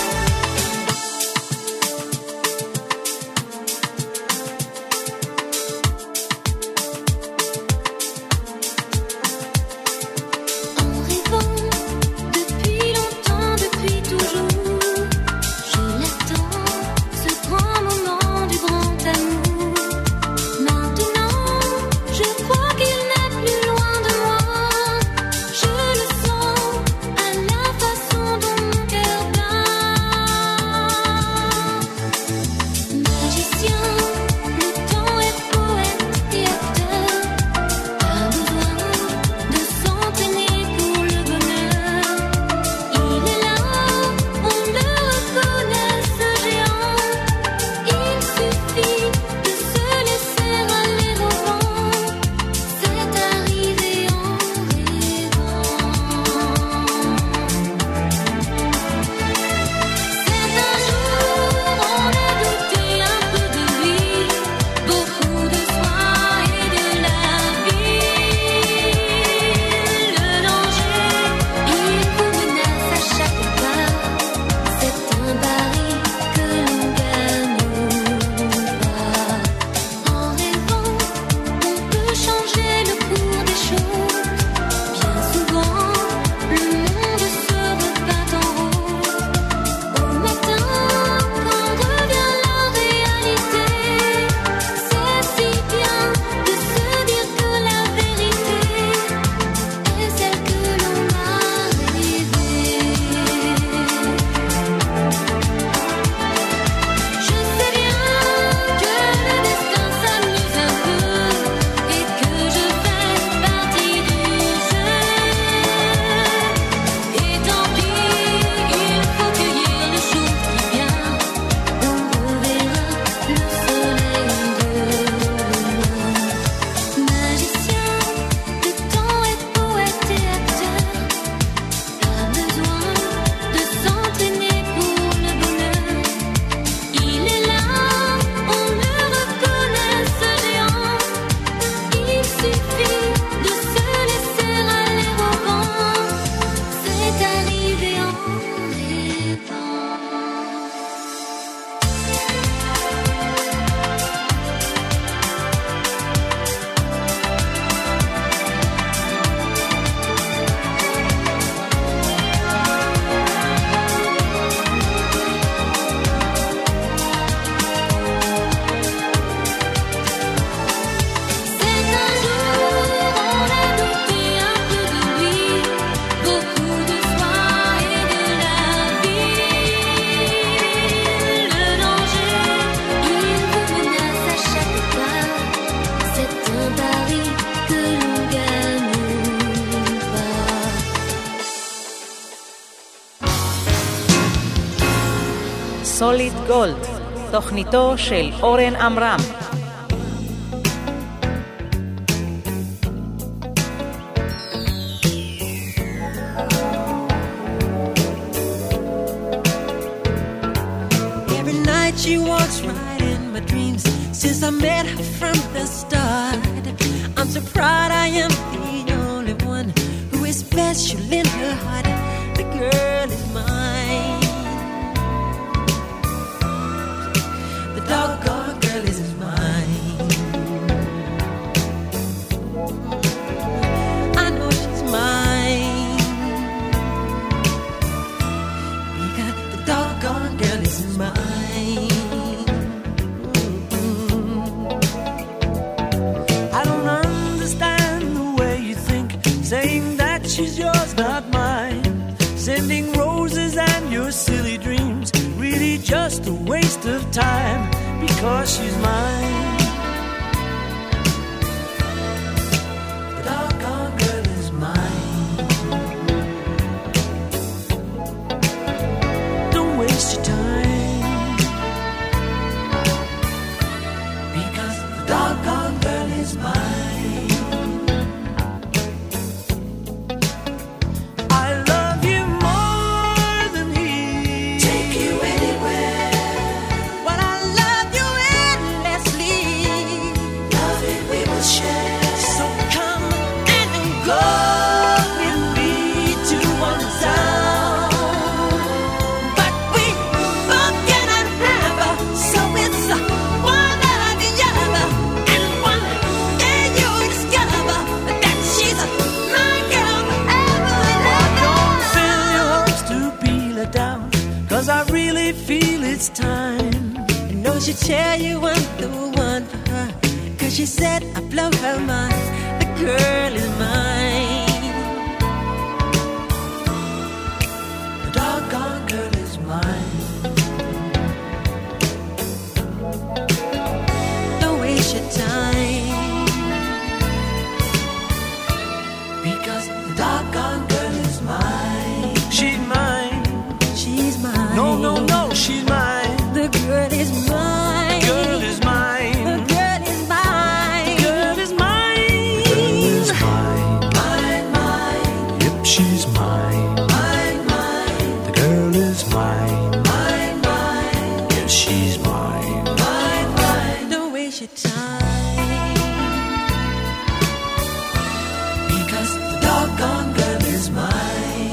סוליד גולד, תוכניתו של אורן עמרם. Every night she walks right in my dreams since I met her from the start. I'm so proud I am the only one who is special in her heart. The girl is mine. The doggone girl is mine. I know she's mine because the doggone girl is mine. I don't understand the way you think, saying that she's yours, not mine. Sending roses and your silly dreams really just time because she's mine. The doggone girl is mine. Don't waste your time because the doggone girl is mine. It's time. I know she'll tell you I'm the one for her, 'cause she said I blow her mind. The girl is mine. The doggone girl is mine. Don't waste your time because the doggone girl is mine. She's mine. She's mine. No, no, no, she's mine. The girl is mine. Girl is mine. The girl is mine. Girl is mine. Girl is mine. Mine, mine. Yep, she's mine. Mine, mine. The girl is mine. Mine, mine. Yes, she's mine. Mine, mine. Don't waste your time because the doggone girl is mine.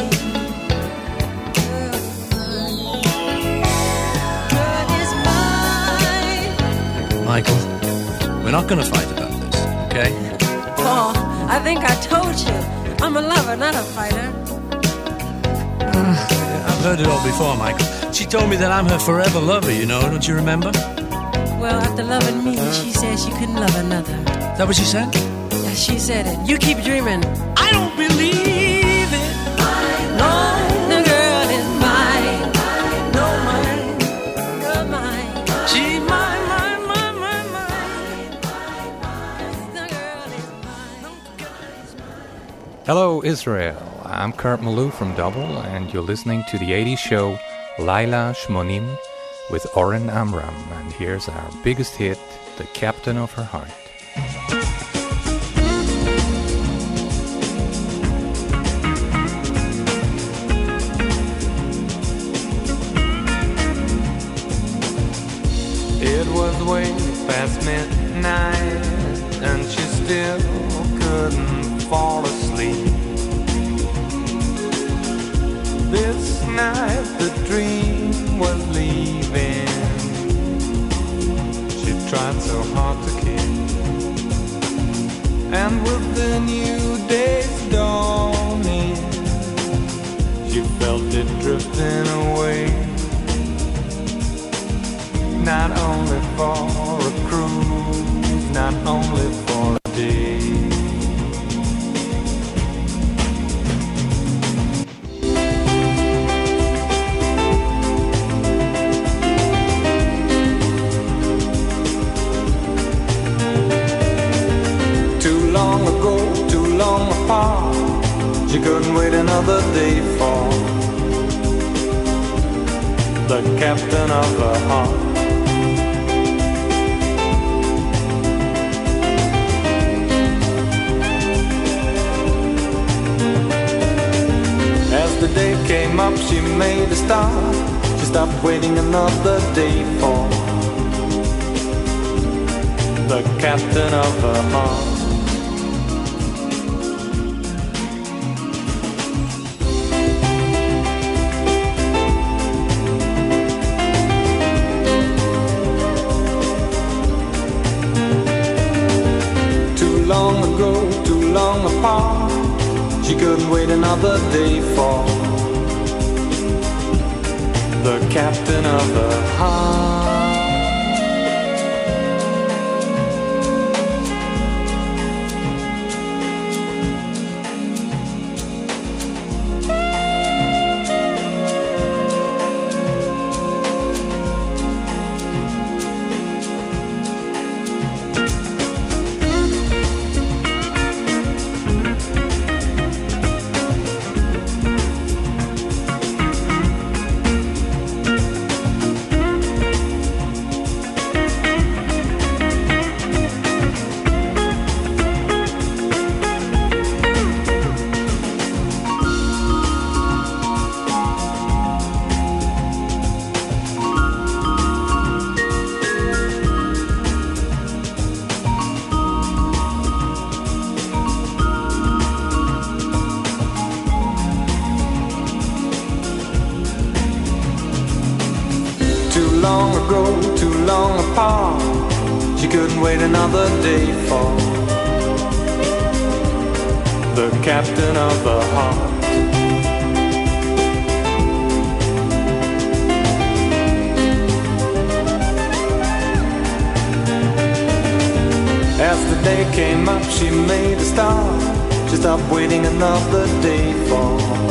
Michael, we're not going to fight about this, okay? Paul, I think I told you. I'm a lover, not a fighter. I've heard it all before, Michael. She told me that I'm her forever lover, you know, don't you remember? Well, after loving me, she said she couldn't love another. Is that what she said? Yeah, she said it. You keep dreaming. I don't believe it. No, the girl is mine. No, mine. You're mine. She's mine. Hello, Israel. I'm Kurt Malou from Double, and you're listening to the 80s show Laila Shmonim with Oren Amram. And here's our biggest hit, The Captain of Her Heart. It was way past midnight, and she still couldn't fall asleep. This night the dream was leaving. She tried so hard to keep, and with the new day's dawning, she felt it drifting away. Not only for a cruise, not only for a day. She couldn't wait another day for the captain of her heart. As the day came up, she made a start. She stopped waiting another day for the captain of her heart. Too long apart, she couldn't wait another day for the captain of her heart. too long apart. She couldn't wait another day for the captain of the heart. As the day came up, she made a start. She stopped waiting another day for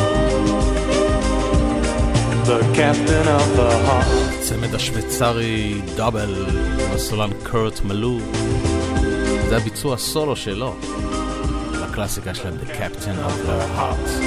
the captain of the heart. צמד השוויצרי דאבל, הסולן קורט מלו. זה הביצוע סולו שלו לקלאסיקה שלהם, The Captain of the Heart.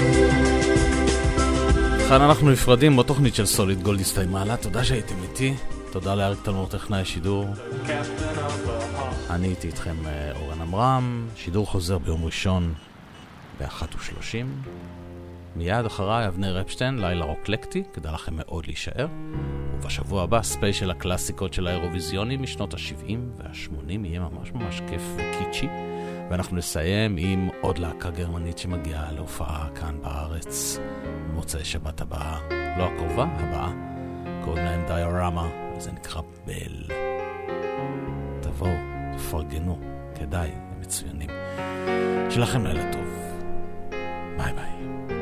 כאן אנחנו נפרדים בתוכנית של סוליד גולד הסתיימה לה. תודה שהייתם איתי, תודה לאריק תלמור טכנאי השידור. אני הייתי איתכם אורן עמרם. שידור חוזר ביום ראשון ב-1:30. מיד אחריי אבנר אפשטיין, לילה רוקלקטי, כדאי לכם מאוד להישאר. ובשבוע הבא ספיישל הקלאסיקות של האירוויזיונים משנות ה-70 וה-80, יהיה ממש ממש כיף וקיצ'י. ואנחנו נסיים עם עוד להקה גרמנית שמגיעה להופעה כאן בארץ מוצאי שבת הבאה, לא הקרובה, הבאה. קוראים להם דיורמה, וזה נקרא בל. תבואו, תפרגנו, כדאי, הם מצוינים. שלכם לילה טוב. ביי ביי.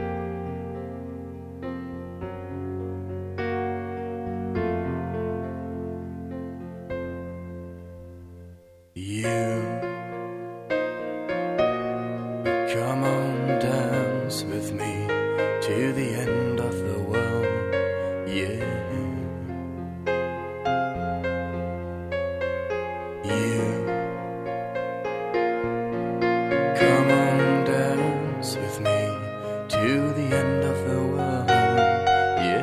Come on, dance with me to the end of the world, yeah. You come on, dance with me to the end of the world, yeah.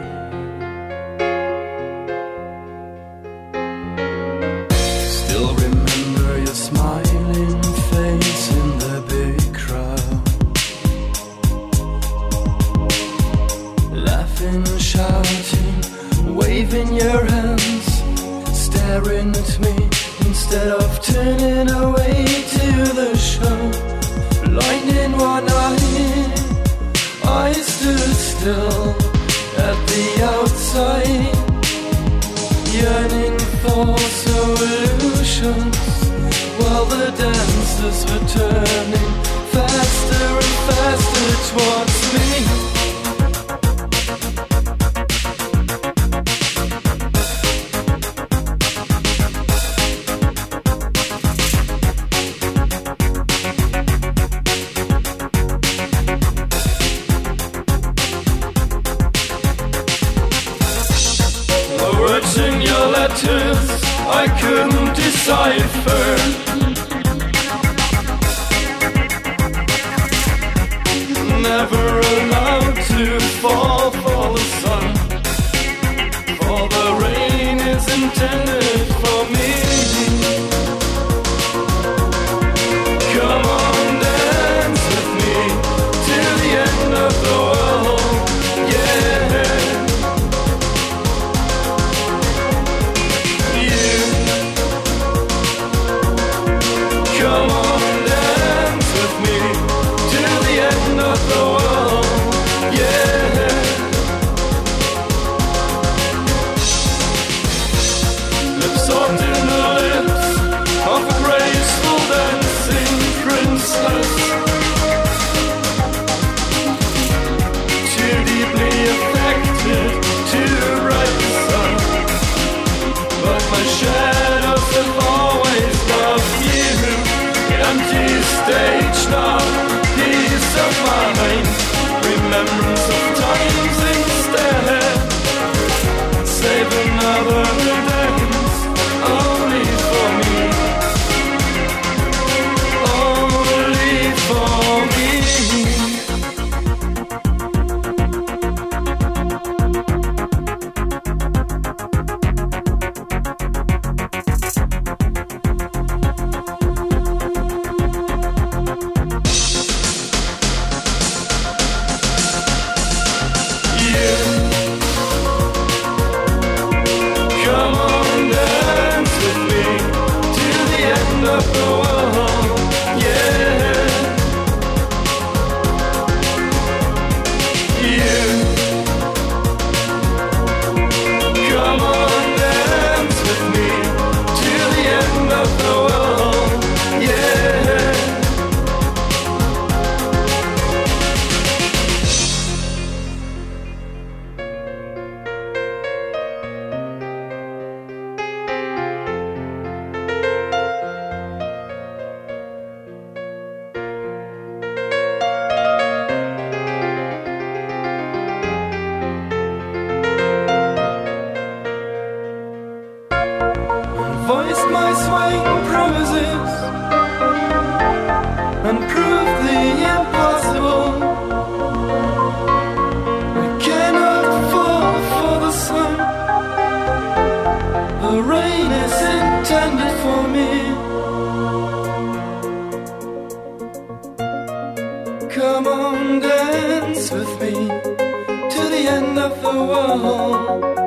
Still remember your smiling face in the big crowd, laughing, shouting, waving your hands, staring at me instead of turning away to the show. Blind in one eye, I stood still at the outside, yearning for solutions, while the dancers were turning faster and faster towards me. The words in your letters I couldn't decipher. Never allowed to fall for the sun, for the rain is intended for me. Come on, dance with me till the end of the world, yeah. You come on, dance with me till the end of the world, yeah. Lips soft in the lips of a graceful dancing princess, too deeply affected to write the sun, but my shadows have always loved you. Empty stage now, peace of mind, remembrance of times instead. Save another dance only for me, only for me. swing promises and prove the impossible. We cannot fall for the sun. The rain is intended for me. Come on, dance with me to the end of the world.